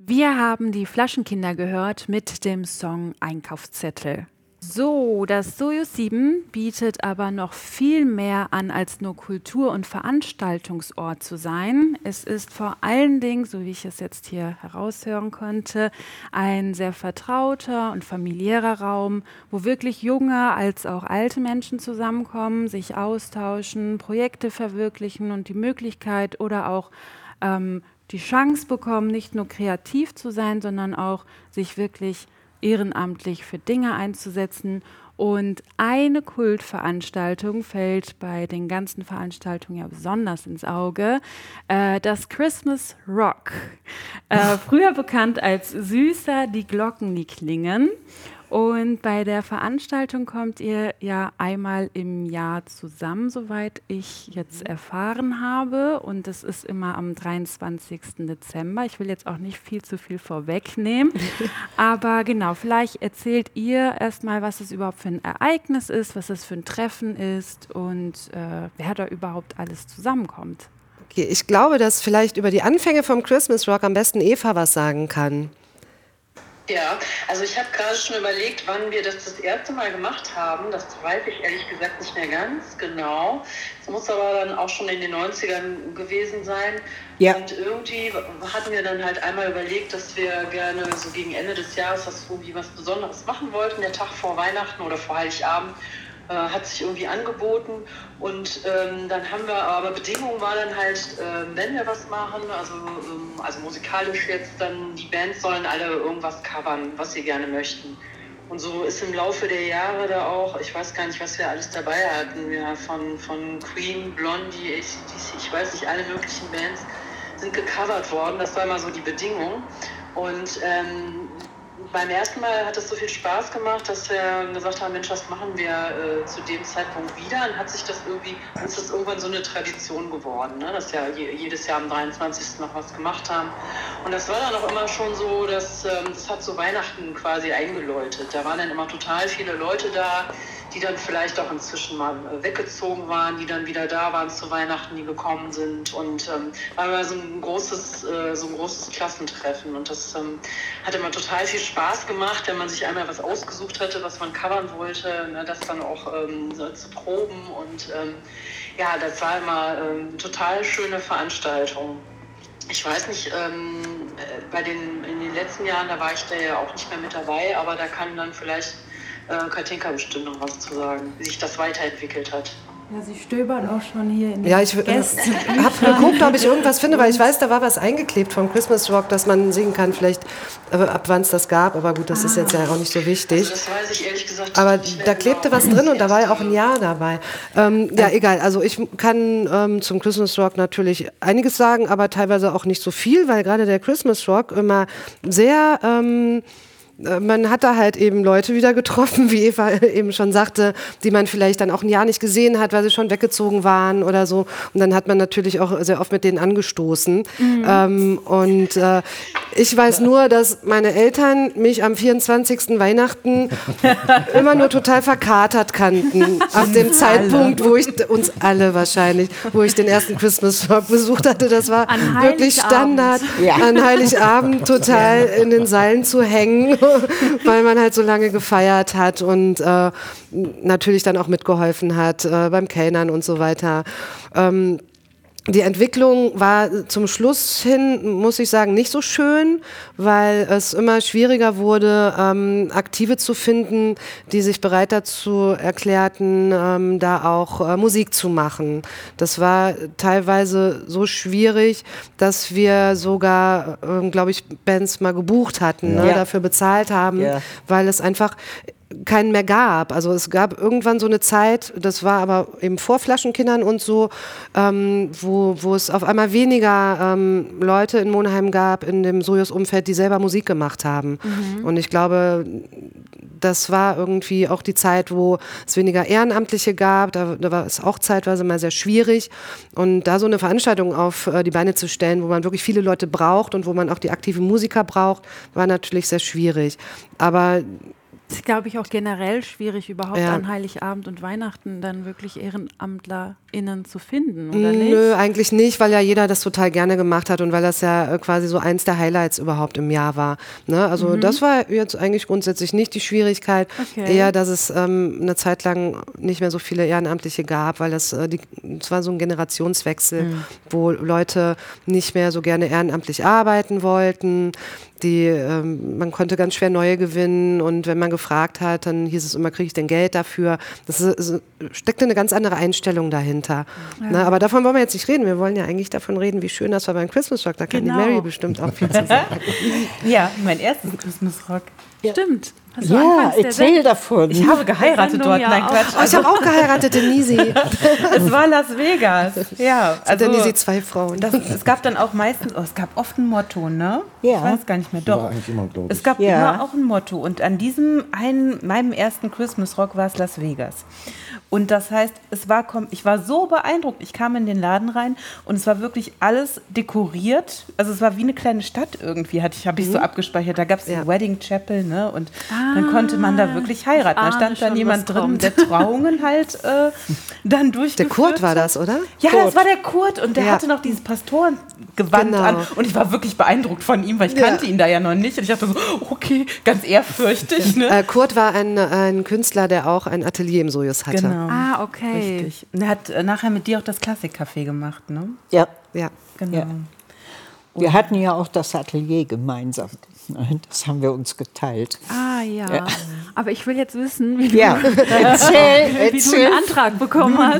Wir haben die Flaschenkinder gehört mit dem Song Einkaufszettel. So, das Sojus sieben bietet aber noch viel mehr an, als nur Kultur- und Veranstaltungsort zu sein. Es ist vor allen Dingen, so wie ich es jetzt hier heraushören konnte, ein sehr vertrauter und familiärer Raum, wo wirklich junge als auch alte Menschen zusammenkommen, sich austauschen, Projekte verwirklichen und die Möglichkeit oder auch ähm, die Chance bekommen, nicht nur kreativ zu sein, sondern auch sich wirklich ehrenamtlich für Dinge einzusetzen. Und eine Kultveranstaltung fällt bei den ganzen Veranstaltungen ja besonders ins Auge, äh, das Christmas Rock. Äh, früher bekannt als Süßer, die Glocken, die klingen. Und bei der Veranstaltung kommt ihr ja einmal im Jahr zusammen, soweit ich jetzt erfahren habe. Und es ist immer am dreiundzwanzigsten Dezember. Ich will jetzt auch nicht viel zu viel vorwegnehmen. Aber genau, vielleicht erzählt ihr erstmal, was es überhaupt für ein Ereignis ist, was es für ein Treffen ist und äh, wer da überhaupt alles zusammenkommt. Okay, ich glaube, dass vielleicht über die Anfänge vom Christmas Rock am besten Eva was sagen kann. Ja, also ich habe gerade schon überlegt, wann wir das das erste Mal gemacht haben. Das weiß ich ehrlich gesagt nicht mehr ganz genau. Es muss aber dann auch schon in den neunzigern gewesen sein. Ja. Und irgendwie hatten wir dann halt einmal überlegt, dass wir gerne so gegen Ende des Jahres was, irgendwie was Besonderes machen wollten. Der Tag vor Weihnachten oder vor Heiligabend äh, hat sich irgendwie angeboten. Und ähm, dann haben wir, aber Bedingung war dann halt, äh, wenn wir was machen, also, ähm, also musikalisch jetzt, dann die Bands sollen alle irgendwas covern, was sie gerne möchten. Und so ist im Laufe der Jahre da auch, ich weiß gar nicht, was wir alles dabei hatten, ja, von, von Queen, Blondie, A C D C, ich weiß nicht, alle möglichen Bands sind gecovert worden, das war immer so die Bedingung. Und ähm, beim ersten Mal hat es so viel Spaß gemacht, dass wir gesagt haben, Mensch, was machen wir äh, zu dem Zeitpunkt wieder? Und hat sich das irgendwie, ist das irgendwann so eine Tradition geworden, ne? Dass wir je, jedes Jahr am dreiundzwanzigsten noch was gemacht haben. Und das war dann auch immer schon so, dass ähm, das hat so Weihnachten quasi eingeläutet. Da waren dann immer total viele Leute da, die dann vielleicht auch inzwischen mal äh, weggezogen waren, die dann wieder da waren zu Weihnachten, die gekommen sind. Und ähm, war immer so ein großes, äh, so ein großes Klassentreffen. Und das ähm, hat immer total viel Spaß gemacht, wenn man sich einmal was ausgesucht hatte, was man covern wollte, ne, das dann auch ähm, so zu proben. Und ähm, ja, das war immer ähm, total schöne Veranstaltung. Ich weiß nicht, ähm, bei den, in den letzten Jahren, da war ich da ja auch nicht mehr mit dabei, aber da kann dann vielleicht äh, Katinka bestimmt noch was zu sagen, wie sich das weiterentwickelt hat. Ja, sie stöbert auch schon hier in den Ja, ich äh, habe geguckt, ob ich irgendwas finde, weil ich weiß, da war was eingeklebt vom Christmas Rock, dass man singen kann, vielleicht äh, ab wann es das gab, aber gut, das ah. ist jetzt ja auch nicht so wichtig. Also das weiß ich ehrlich gesagt aber nicht mehr da genau. klebte was drin und da war ja auch ein Jahr dabei. Ähm, ja, egal, also ich kann ähm, zum Christmas Rock natürlich einiges sagen, aber teilweise auch nicht so viel, weil gerade der Christmas Rock immer sehr... Ähm, man hat da halt eben Leute wieder getroffen, wie Eva eben schon sagte, die man vielleicht dann auch ein Jahr nicht gesehen hat, weil sie schon weggezogen waren oder so. Und dann hat man natürlich auch sehr oft mit denen angestoßen. Mhm. Ähm, und äh, ich weiß nur, dass meine Eltern mich am vierundzwanzigsten Weihnachten immer nur total verkatert kannten. Ab dem Zeitpunkt, wo ich, uns alle wahrscheinlich, wo ich den ersten Christmas Rock besucht hatte. Das war an wirklich Standard, ja. an Heiligabend total in den Seilen zu hängen. Weil man halt so lange gefeiert hat und äh, natürlich dann auch mitgeholfen hat äh, beim Kellnern und so weiter. Ähm, Die Entwicklung war zum Schluss hin, muss ich sagen, nicht so schön, weil es immer schwieriger wurde, ähm, Aktive zu finden, die sich bereit dazu erklärten, ähm, da auch äh, Musik zu machen. Das war teilweise so schwierig, dass wir sogar, äh, glaube ich, Bands mal gebucht hatten, ja. ne, dafür bezahlt haben, ja. weil es einfach keinen mehr gab. Also es gab irgendwann so eine Zeit, das war aber eben vor Flaschenkindern und so, ähm, wo, wo es auf einmal weniger ähm, Leute in Monheim gab, in dem Sojus-Umfeld, die selber Musik gemacht haben. Mhm. Und ich glaube, das war irgendwie auch die Zeit, wo es weniger Ehrenamtliche gab. Da, da war es auch zeitweise mal sehr schwierig. Und da so eine Veranstaltung auf äh, die Beine zu stellen, wo man wirklich viele Leute braucht und wo man auch die aktiven Musiker braucht, war natürlich sehr schwierig. Aber Das ist, glaube ich, auch generell schwierig, überhaupt Ja. an Heiligabend und Weihnachten dann wirklich EhrenamtlerInnen zu finden, oder nicht? Nö, eigentlich nicht, weil ja jeder das total gerne gemacht hat und weil das ja äh, quasi so eins der Highlights überhaupt im Jahr war. Ne? Also Mhm. das war jetzt eigentlich grundsätzlich nicht die Schwierigkeit, Okay. eher, dass es ähm, eine Zeit lang nicht mehr so viele Ehrenamtliche gab, weil das, äh, die, das war so ein Generationswechsel, Mhm. wo Leute nicht mehr so gerne ehrenamtlich arbeiten wollten. Die, ähm, man konnte ganz schwer neue gewinnen und wenn man gefragt hat, dann hieß es immer, kriege ich denn Geld dafür? Das ist, ist, steckte eine ganz andere Einstellung dahinter. Ja. Na, aber davon wollen wir jetzt nicht reden. Wir wollen ja eigentlich davon reden, wie schön das war beim Christmas Rock. Da kann Genau. die Mary bestimmt auch viel zu sagen. Ja, mein erstes Christmas Rock. Stimmt. Hast du Ja, anfangs der erzähl Sendung- davon. Ich habe geheiratet Sendung dort. ja Nein, auch. Quatsch. Oh, ich habe auch geheiratet in Nisi. Es war Las Vegas. Ja, Also, in also Nisi zwei Frauen. das, es gab dann auch meistens, oh, es gab oft ein Motto, ne? Ja. Ich weiß gar nicht mehr. War Doch. eigentlich immer, glaube ich. Es gab Ja. immer auch ein Motto. Und an diesem einen, meinem ersten Christmas Rock war es Las Vegas. Und das heißt, es war, kom- ich war so beeindruckt. Ich kam in den Laden rein und es war wirklich alles dekoriert. Also es war wie eine kleine Stadt irgendwie, hatte ich, habe ich so abgespeichert. Da gab es Ja. die Wedding Chapel, ne? Und dann konnte man da wirklich heiraten. Da ahne stand dann schon, jemand was drin, kommt. der Trauungen halt äh, dann durchgeführt Der Kurt war hat. das, oder? Ja, Kurt. das war der Kurt und der Ja. hatte noch dieses Pastorengewand Genau. an und ich war wirklich beeindruckt von ihm, weil ich Ja. kannte ihn da ja noch nicht und ich dachte so, okay, ganz ehrfürchtig, ne? Äh, Kurt war ein, ein Künstler, der auch ein Atelier im Sojus hatte. Genau. Ah, okay. Richtig. Und er hat äh, nachher mit dir auch das Klassikcafé gemacht, ne? Ja, Ja. Genau. Ja. wir hatten ja auch das Atelier gemeinsam. Das haben wir uns geteilt. Ah, ja. Aber ich will jetzt wissen, wie, Ja, du, erzähl, wie du erzähl. einen Antrag bekommen hast.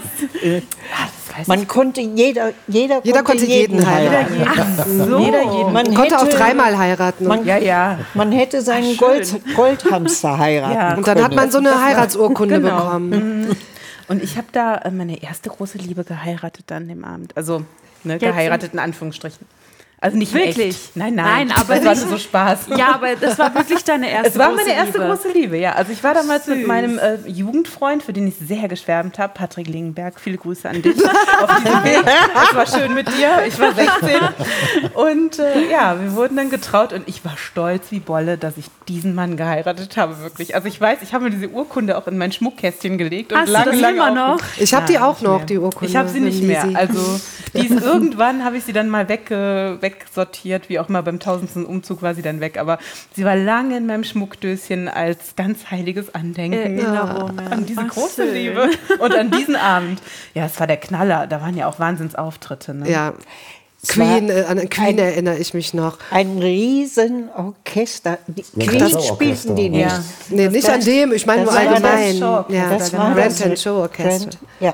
Man konnte, jeder, jeder, Jeder konnte jeden heiraten. Ach so. Jeder jeden. Man Konnte auch hätte- dreimal heiraten. Man, Ja, ja. man hätte seinen Ach, Gold, schön. Goldhamster heiraten Ja. Und dann hat man so eine Das war- Heiratsurkunde Genau. bekommen. Und ich habe da äh, meine erste große Liebe geheiratet dann dem Abend. Also ne, Jetzt geheiratet in Anführungsstrichen. Also nicht in Wirklich? echt. Nein, nein. Nein, aber das war nicht- nur so Spaß. Ja, aber das war wirklich deine erste Es war große meine erste Liebe. große Liebe, ja. Also ich war damals Süß. mit meinem äh, Jugendfreund, für den ich sehr geschwärmt habe, Patrick Lingenberg. Viele Grüße an dich auf diesem Weg. Es war schön mit dir. Ich war sechzehn. Und äh, ja, wir wurden dann getraut und ich war stolz wie Bolle, dass ich diesen Mann geheiratet habe, wirklich. Also ich weiß, ich habe mir diese Urkunde auch in mein Schmuckkästchen gelegt und Hast du lange, das lange immer auch- noch? Ich habe die Nein, auch nicht noch, mehr. die Urkunde. Ich habe sie nicht von mehr. Lisi. Also die ist, irgendwann habe ich sie dann mal weg, äh, wegsortiert, wie auch mal beim tausendsten Umzug war sie dann weg. Aber sie war lange in meinem Schmuckdöschen als ganz heiliges Andenken Erinnerungen. an diese Ach, große schön. Liebe und an diesen Abend. Ja, es war der Knaller. Da waren ja auch Wahnsinnsauftritte. Ne? Ja. Es Queen, war äh, an Queen ein- erinnere ich mich noch. Ein Riesenorchester. Die Ja, Queen das Orchester. spielten die nicht. Ja. Nee, nicht an dem, ich meine das nur war allgemein. das Show- ja, Das das war Rent das and Show Orchestra. Grand- Ja.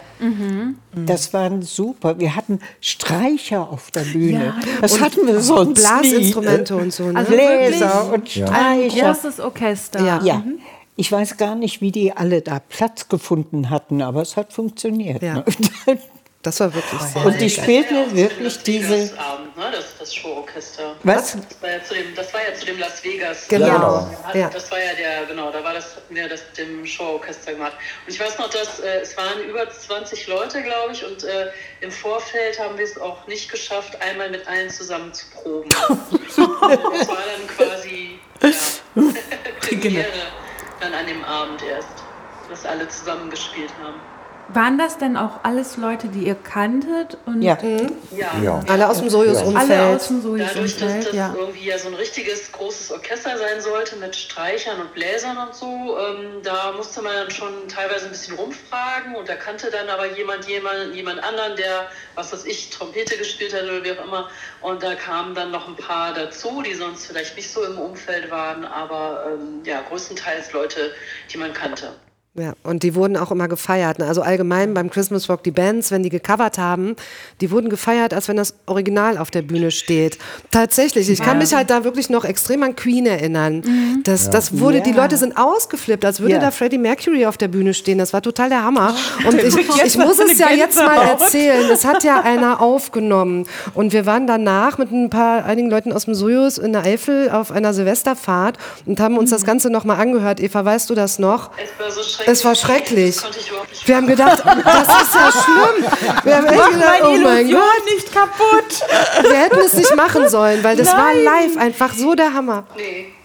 Das waren super. Wir hatten Streicher auf der Bühne. das hatten wir sonst Blasinstrumente und so. Ne? nie. Bläser und Ja. Ein Streicher. großes Orchester. Ja. Ja. Ich weiß gar nicht, wie die alle da Platz gefunden hatten, aber es hat funktioniert. Ja. Ne? Das war wirklich sehr Und die geil. spielten Ja, wirklich das diese. Abend, ne? das, das Showorchester. Was? Das war, ja zu dem, das war ja zu dem Las Vegas. Genau. Ja, genau. Ja. Das war ja der, genau, da war das, hatten wir das mit dem Showorchester gemacht. Und ich weiß noch, dass äh, es waren über zwanzig Leute, glaube ich, und äh, im Vorfeld haben wir es auch nicht geschafft, einmal mit allen zusammen zu proben. Das war dann quasi ja, Premiere dann an dem Abend erst, dass alle zusammen gespielt haben. Waren das denn auch alles Leute, die ihr kanntet? Und Ja. Ja. Ja. Alle aus dem Sojus-Umfeld. alle aus dem Dadurch, dass Sojus-Umfeld, das ja. irgendwie ja so ein richtiges großes Orchester sein sollte mit Streichern und Bläsern und so, ähm, da musste man dann schon teilweise ein bisschen rumfragen und da kannte dann aber jemand jemand, jemand anderen, der, was weiß ich, Trompete gespielt hat oder wie auch immer. Und da kamen dann noch ein paar dazu, die sonst vielleicht nicht so im Umfeld waren, aber ähm, ja, größtenteils Leute, die man kannte. Ja, und die wurden auch immer gefeiert. ne? Also allgemein beim Christmas Rock, die Bands, wenn die gecovert haben, die wurden gefeiert, als wenn das Original auf der Bühne steht. Tatsächlich, ich kann mich halt da wirklich noch extrem an Queen erinnern. Das, das wurde, die Ja. Leute sind ausgeflippt, als würde Ja. da Freddie Mercury auf der Bühne stehen. Das war total der Hammer. Und ich, jetzt ich muss so es ja eine jetzt mal Gänsehaut. erzählen. Das hat ja einer aufgenommen. Und wir waren danach mit ein paar, einigen Leuten aus dem Sojus in der Eifel auf einer Silvesterfahrt und haben uns das Ganze nochmal angehört. Eva, weißt du das noch? Es war so schrecklich. Es war schrecklich. Das konnte ich überhaupt nicht Wir haben gedacht, das ist ja schlimm. Wir haben echt gedacht, oh mein Gott, nicht kaputt. wir hätten es nicht machen sollen, weil das war live einfach so der Hammer. Nee,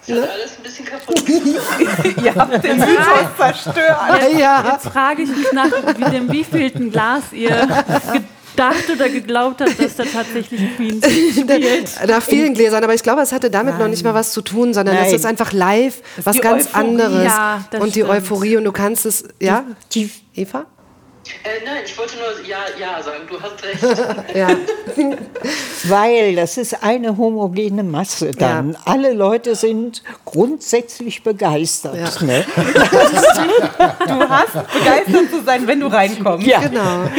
Das hat alles ein bisschen kaputt gemacht. Ihr habt den Mythos zerstört. Jetzt, Ja. jetzt frage ich mich nach wie dem wievielten Glas ihr gedacht oder geglaubt habt, dass da tatsächlich Queen spielt. Nach vielen Gläsern, aber ich glaube, es hatte damit noch nicht mal was zu tun, sondern Nein. das ist einfach live was die ganz Euphorie. anderes. Ja, das und die stimmt. Euphorie und du kannst es, ja? Die, Eva? Äh, nein, ich wollte nur ja, ja sagen, du hast recht. Ja. weil das ist eine homogene Masse dann. Ja. Alle Leute sind grundsätzlich begeistert. Ja. Ne? Du hast begeistert zu sein, wenn du reinkommst. Ja. Genau.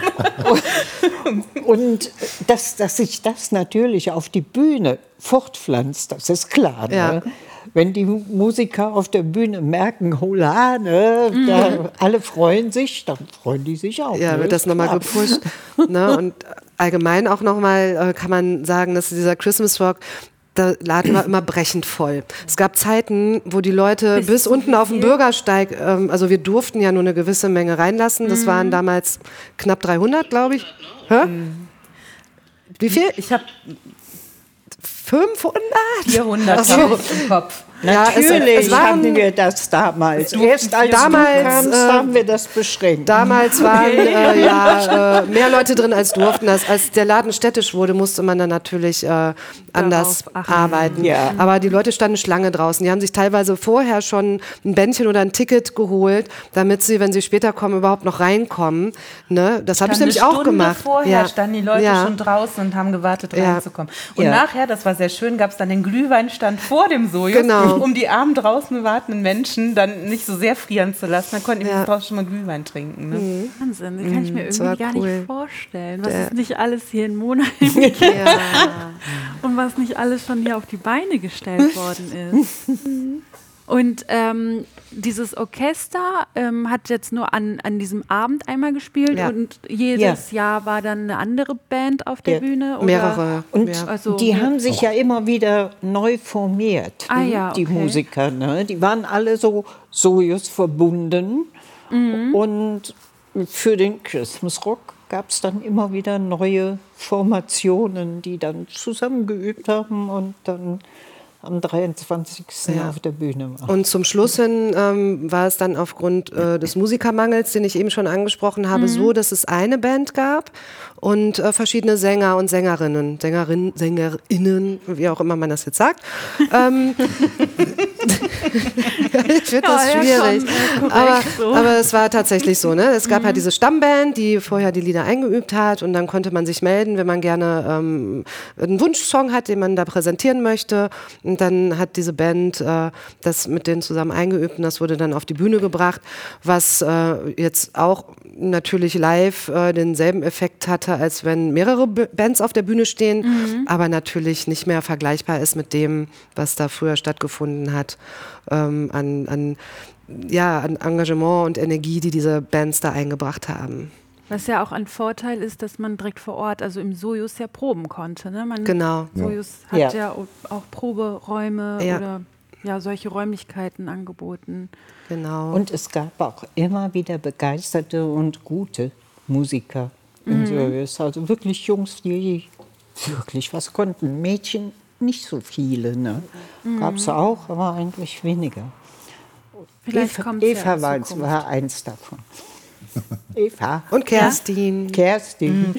Und dass, dass sich das natürlich auf die Bühne fortpflanzt, das ist klar. Ja. Ne? Wenn die Musiker auf der Bühne merken, hola, ne, da, alle freuen sich, dann freuen die sich auch. Ja, ne? wird das nochmal Klar. gepusht. Ne? Und allgemein auch nochmal äh, kann man sagen, dass dieser Christmas Rock, der Laden war immer brechend voll. Es gab Zeiten, wo die Leute bis, Bis unten wie auf den viel? Bürgersteig, ähm, also wir durften ja nur eine gewisse Menge reinlassen. Das waren damals knapp dreihundert, glaube ich. Hä? Wie viel? Ich habe fünfhundert? vierhundert Ach so. hab ich im Kopf. Ja, es- Natürlich es waren- hatten wir das damals. Erst als damals, du kamst, äh, haben wir das beschränkt. Damals waren äh, ja äh, mehr Leute drin als durften. Das, als der Laden städtisch wurde, musste man dann natürlich äh, anders Darauf achten. arbeiten. Ja. Aber die Leute standen Schlange draußen. Die haben sich teilweise vorher schon ein Bändchen oder ein Ticket geholt, damit sie, wenn sie später kommen, überhaupt noch reinkommen. Ne? Das habe ich Dann nämlich eine auch Stunde gemacht. Vorher Ja. standen die Leute Ja. schon draußen und haben gewartet, Ja. reinzukommen. Und Ja. nachher, das war sehr schön, gab es dann den Glühweinstand vor dem Sojus, Genau. um die armen draußen wartenden Menschen dann nicht so sehr frieren zu lassen. Dann konnten die Ja. draußen schon mal Glühwein trinken. Ne? Wahnsinn, das kann ich mir das irgendwie war gar cool. nicht vorstellen, was Der- es nicht alles hier in Monheim gibt Ja. und was nicht alles schon hier auf die Beine gestellt worden ist. Und ähm, dieses Orchester ähm, hat jetzt nur an, an diesem Abend einmal gespielt Ja. und jedes Jahr war dann eine andere Band auf der Ja. Bühne? Oder? Mehrere. Und Ja. Also, die haben sich ja immer wieder neu formiert, Ah ja, die okay. Musiker. Ne? Die waren alle so Sojus verbunden. Mhm. Und für den Christmas Rock gab es dann immer wieder neue Formationen, die dann zusammengeübt haben und dann am dreiundzwanzigsten Ja. auf der Bühne waren. Und zum Schluss hin ähm, war es dann aufgrund äh, des Musikermangels, den ich eben schon angesprochen habe, so, dass es eine Band gab und äh, verschiedene Sänger und Sängerinnen, Sängerinnen, Sängerinnen, wie auch immer man das jetzt sagt. ähm, ich finde das Ja, ja, schwierig. schon, äh, korrekt aber, so. aber es war tatsächlich so. Ne? Es gab halt diese Stammband, die vorher die Lieder eingeübt hat und dann konnte man sich melden, wenn man gerne ähm, einen Wunschsong hat, den man da präsentieren möchte. Und dann hat diese Band äh, das mit denen zusammen eingeübt und das wurde dann auf die Bühne gebracht, was äh, jetzt auch natürlich live äh, denselben Effekt hatte, als wenn mehrere B- Bands auf der Bühne stehen, aber natürlich nicht mehr vergleichbar ist mit dem, was da früher stattgefunden hat, ähm, an, an, ja, an Engagement und Energie, die diese Bands da eingebracht haben. Was ja auch ein Vorteil ist, dass man direkt vor Ort, also im Sojus, ja proben konnte. Ne? Man, Genau. Sojus hat Ja. ja, auch Proberäume Ja. oder ja, solche Räumlichkeiten angeboten. Genau. Und es gab auch immer wieder begeisterte und gute Musiker im Service. Also wirklich Jungs, die wirklich was konnten. Mädchen nicht so viele. Ne? Gab es auch, aber eigentlich weniger. Vielleicht Eva, kommt's ja Eva in war, Zukunft. war eins davon. Eva. und Kerstin Kerstin.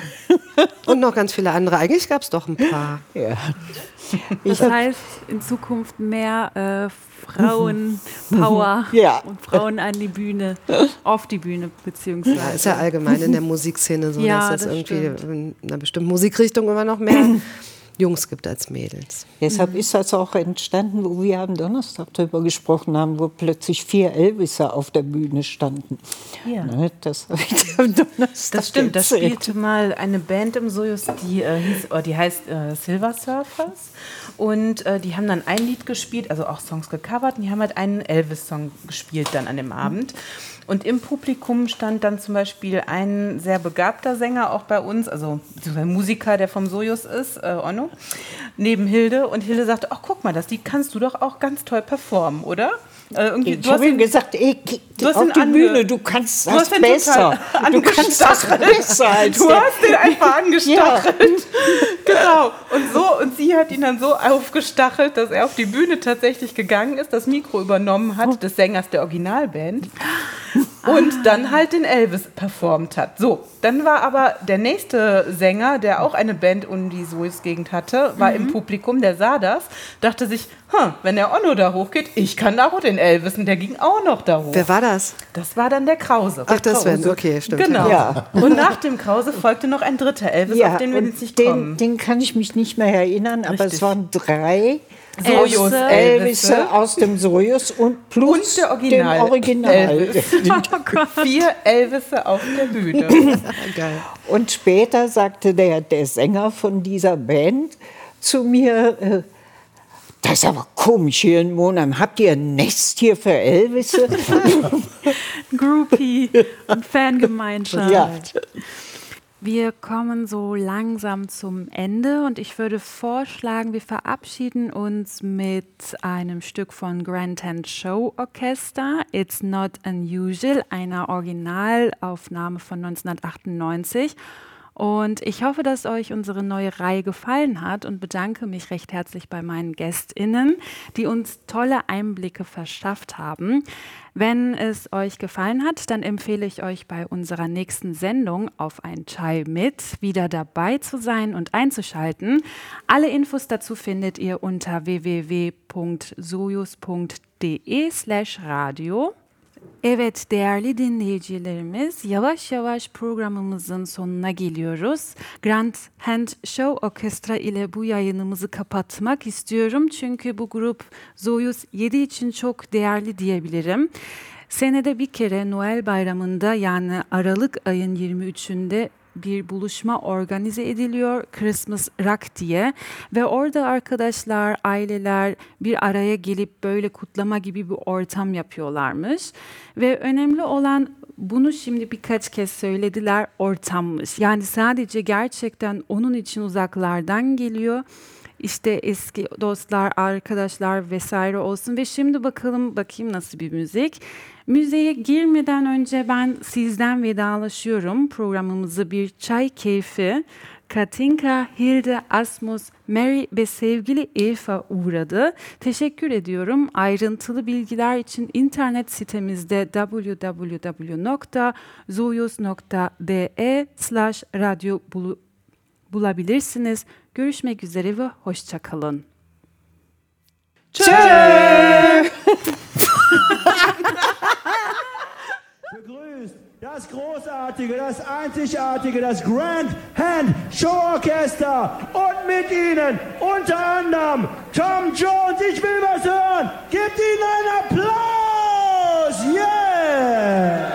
und noch ganz viele andere. Eigentlich gab es doch ein paar. Ja. Das heißt, in Zukunft mehr äh, Frauenpower Ja. und Frauen an die Bühne, auf die Bühne beziehungsweise. Ja, ist ja allgemein in der Musikszene so, Ja, dass es das irgendwie stimmt. in einer bestimmten Musikrichtung immer noch mehr Jungs gibt als Mädels. Deshalb ist das auch entstanden, wo wir am Donnerstag darüber gesprochen haben, wo plötzlich vier Elviser auf der Bühne standen. Ja. Ne, das habe ich am Donnerstag Das stimmt, da erzählt. spielte mal eine Band im Sojus, die, äh, hieß, oh, die heißt äh, Silver Surfers. Und äh, die haben dann ein Lied gespielt, also auch Songs gecovert. Und die haben halt einen Elvis-Song gespielt dann an dem Abend. Und im Publikum stand dann zum Beispiel ein sehr begabter Sänger auch bei uns, also ein Musiker, der vom Sojus ist, äh, Onno, neben Hilde. Und Hilde sagte, ach guck mal, das Lied kannst du doch auch ganz toll performen, oder? Äh, irgendwie, Ich du hast habe ihm ihn, gesagt, ey, du hast auf ihn die ange- Bühne, du kannst du das hast ihn besser. total Du kannst das angestachelt. besser als Du der. hast den einfach angestachelt. Genau. Und so, und sie hat ihn dann so aufgestachelt, dass er auf die Bühne tatsächlich gegangen ist, das Mikro übernommen hat des Sängers der Originalband und dann halt den Elvis performt hat. So, dann war aber der nächste Sänger, der auch eine Band um die Soest-Gegend hatte, war im Publikum, der sah das, dachte sich, hm, wenn der Onno da hochgeht, ich kann da auch den Elvis, und der ging auch noch da hoch. Wer war das? Das war dann der Krause. Ach, das Krause. wäre, okay, stimmt. Genau. Ja. Und nach dem Krause folgte noch ein dritter Elvis, auf den wir und jetzt nicht den, kommen. den kann ich mich nicht mehr erinnern, aber Richtig. es waren drei Sojus Elvisse Elvisse. aus dem Sojus und plus Und der Original den Original. Elvis. Vier Elvisse auf der Bühne. Geil. Und später sagte der, der Sänger von dieser Band zu mir, äh, das ist aber komisch hier in Monheim. Habt ihr ein Nest hier für Elvisse? Groupie und Fangemeinschaft. Ja. Wir kommen so langsam zum Ende und ich würde vorschlagen, wir verabschieden uns mit einem Stück von Grand Tent Show Orchester, It's Not Unusual, einer Originalaufnahme von neunzehnhundertachtundneunzig. Und ich hoffe, dass euch unsere neue Reihe gefallen hat und bedanke mich recht herzlich bei meinen GästInnen, die uns tolle Einblicke verschafft haben. Wenn es euch gefallen hat, dann empfehle ich euch bei unserer nächsten Sendung Auf ein Chai mit wieder dabei zu sein und einzuschalten. Alle Infos dazu findet ihr unter w w w punkt sojus punkt d e slash radio. Evet değerli dinleyicilerimiz, yavaş yavaş programımızın sonuna geliyoruz. Grand Hand Show Orkestra ile bu yayınımızı kapatmak istiyorum. Çünkü bu grup Soyuz yedi için çok değerli diyebilirim. Senede bir kere Noel Bayramı'nda, yani Aralık ayın yirmi üçünde bir buluşma organize ediliyor, Christmas Rock diye, ve orada arkadaşlar, aileler bir araya gelip böyle kutlama gibi bir ortam yapıyorlarmış ve önemli olan, bunu şimdi birkaç kez söylediler, ortammış. Yani sadece gerçekten onun için uzaklardan geliyor. İşte eski dostlar, arkadaşlar vesaire olsun ve şimdi bakalım bakayım nasıl bir müzik. Müziğe girmeden önce ben sizden vedalaşıyorum. Programımızı bir çay keyfi, Katinka, Hilde, Asmus, Mary ve sevgili Eva uğradı. Teşekkür ediyorum. Ayrıntılı bilgiler için internet sitemizde w w w nokta zoyus nokta d e slash radyo bulabilirsiniz. Görüşmek üzere ve hoşça kalın. Begrüßt das großartige, das einzigartige, das Grand Hand Show Orchester und mit ihnen unter anderem Tom Jones. Ich will was hören. Gebt ihnen einen Applaus. Yeah!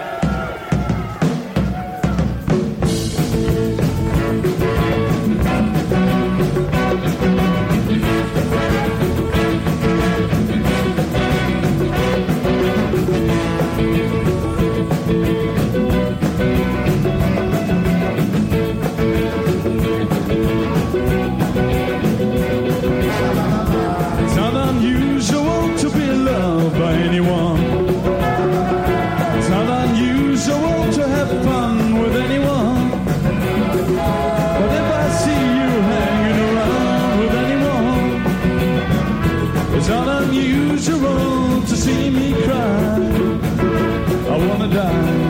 It's not unusual to be loved by anyone. It's not unusual to have fun with anyone. But if I see you hanging around with anyone, it's not unusual to see me cry. I wanna die.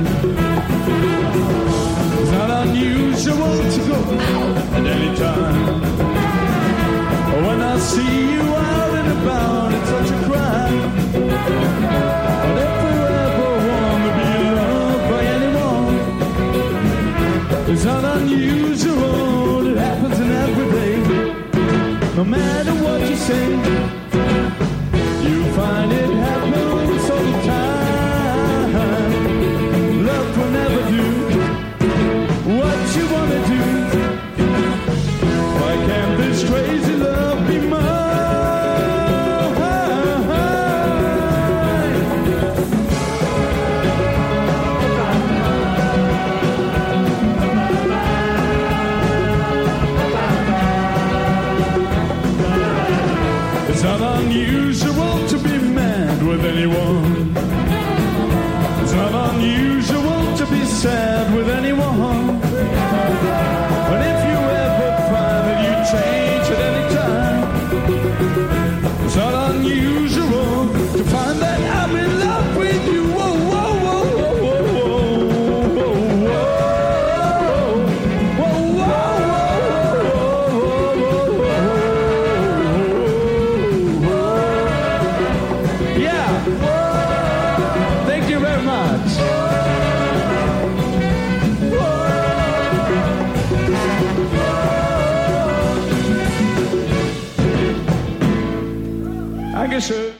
It's not unusual to go out at any time. When I see you out and about, it's such a crime. But if you ever want to be loved by anyone, it's not unusual, it happens in every day. No matter what you say, you find it happens all the time. Love will never do what you want to do. Why can't this crazy love be mine? Dankeschön.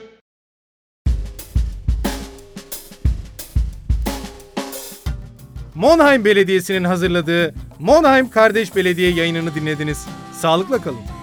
Monheim Belediyesi'nin hazırladığı Monheim Kardeş Belediye yayınını dinlediniz. Sağlıkla kalın.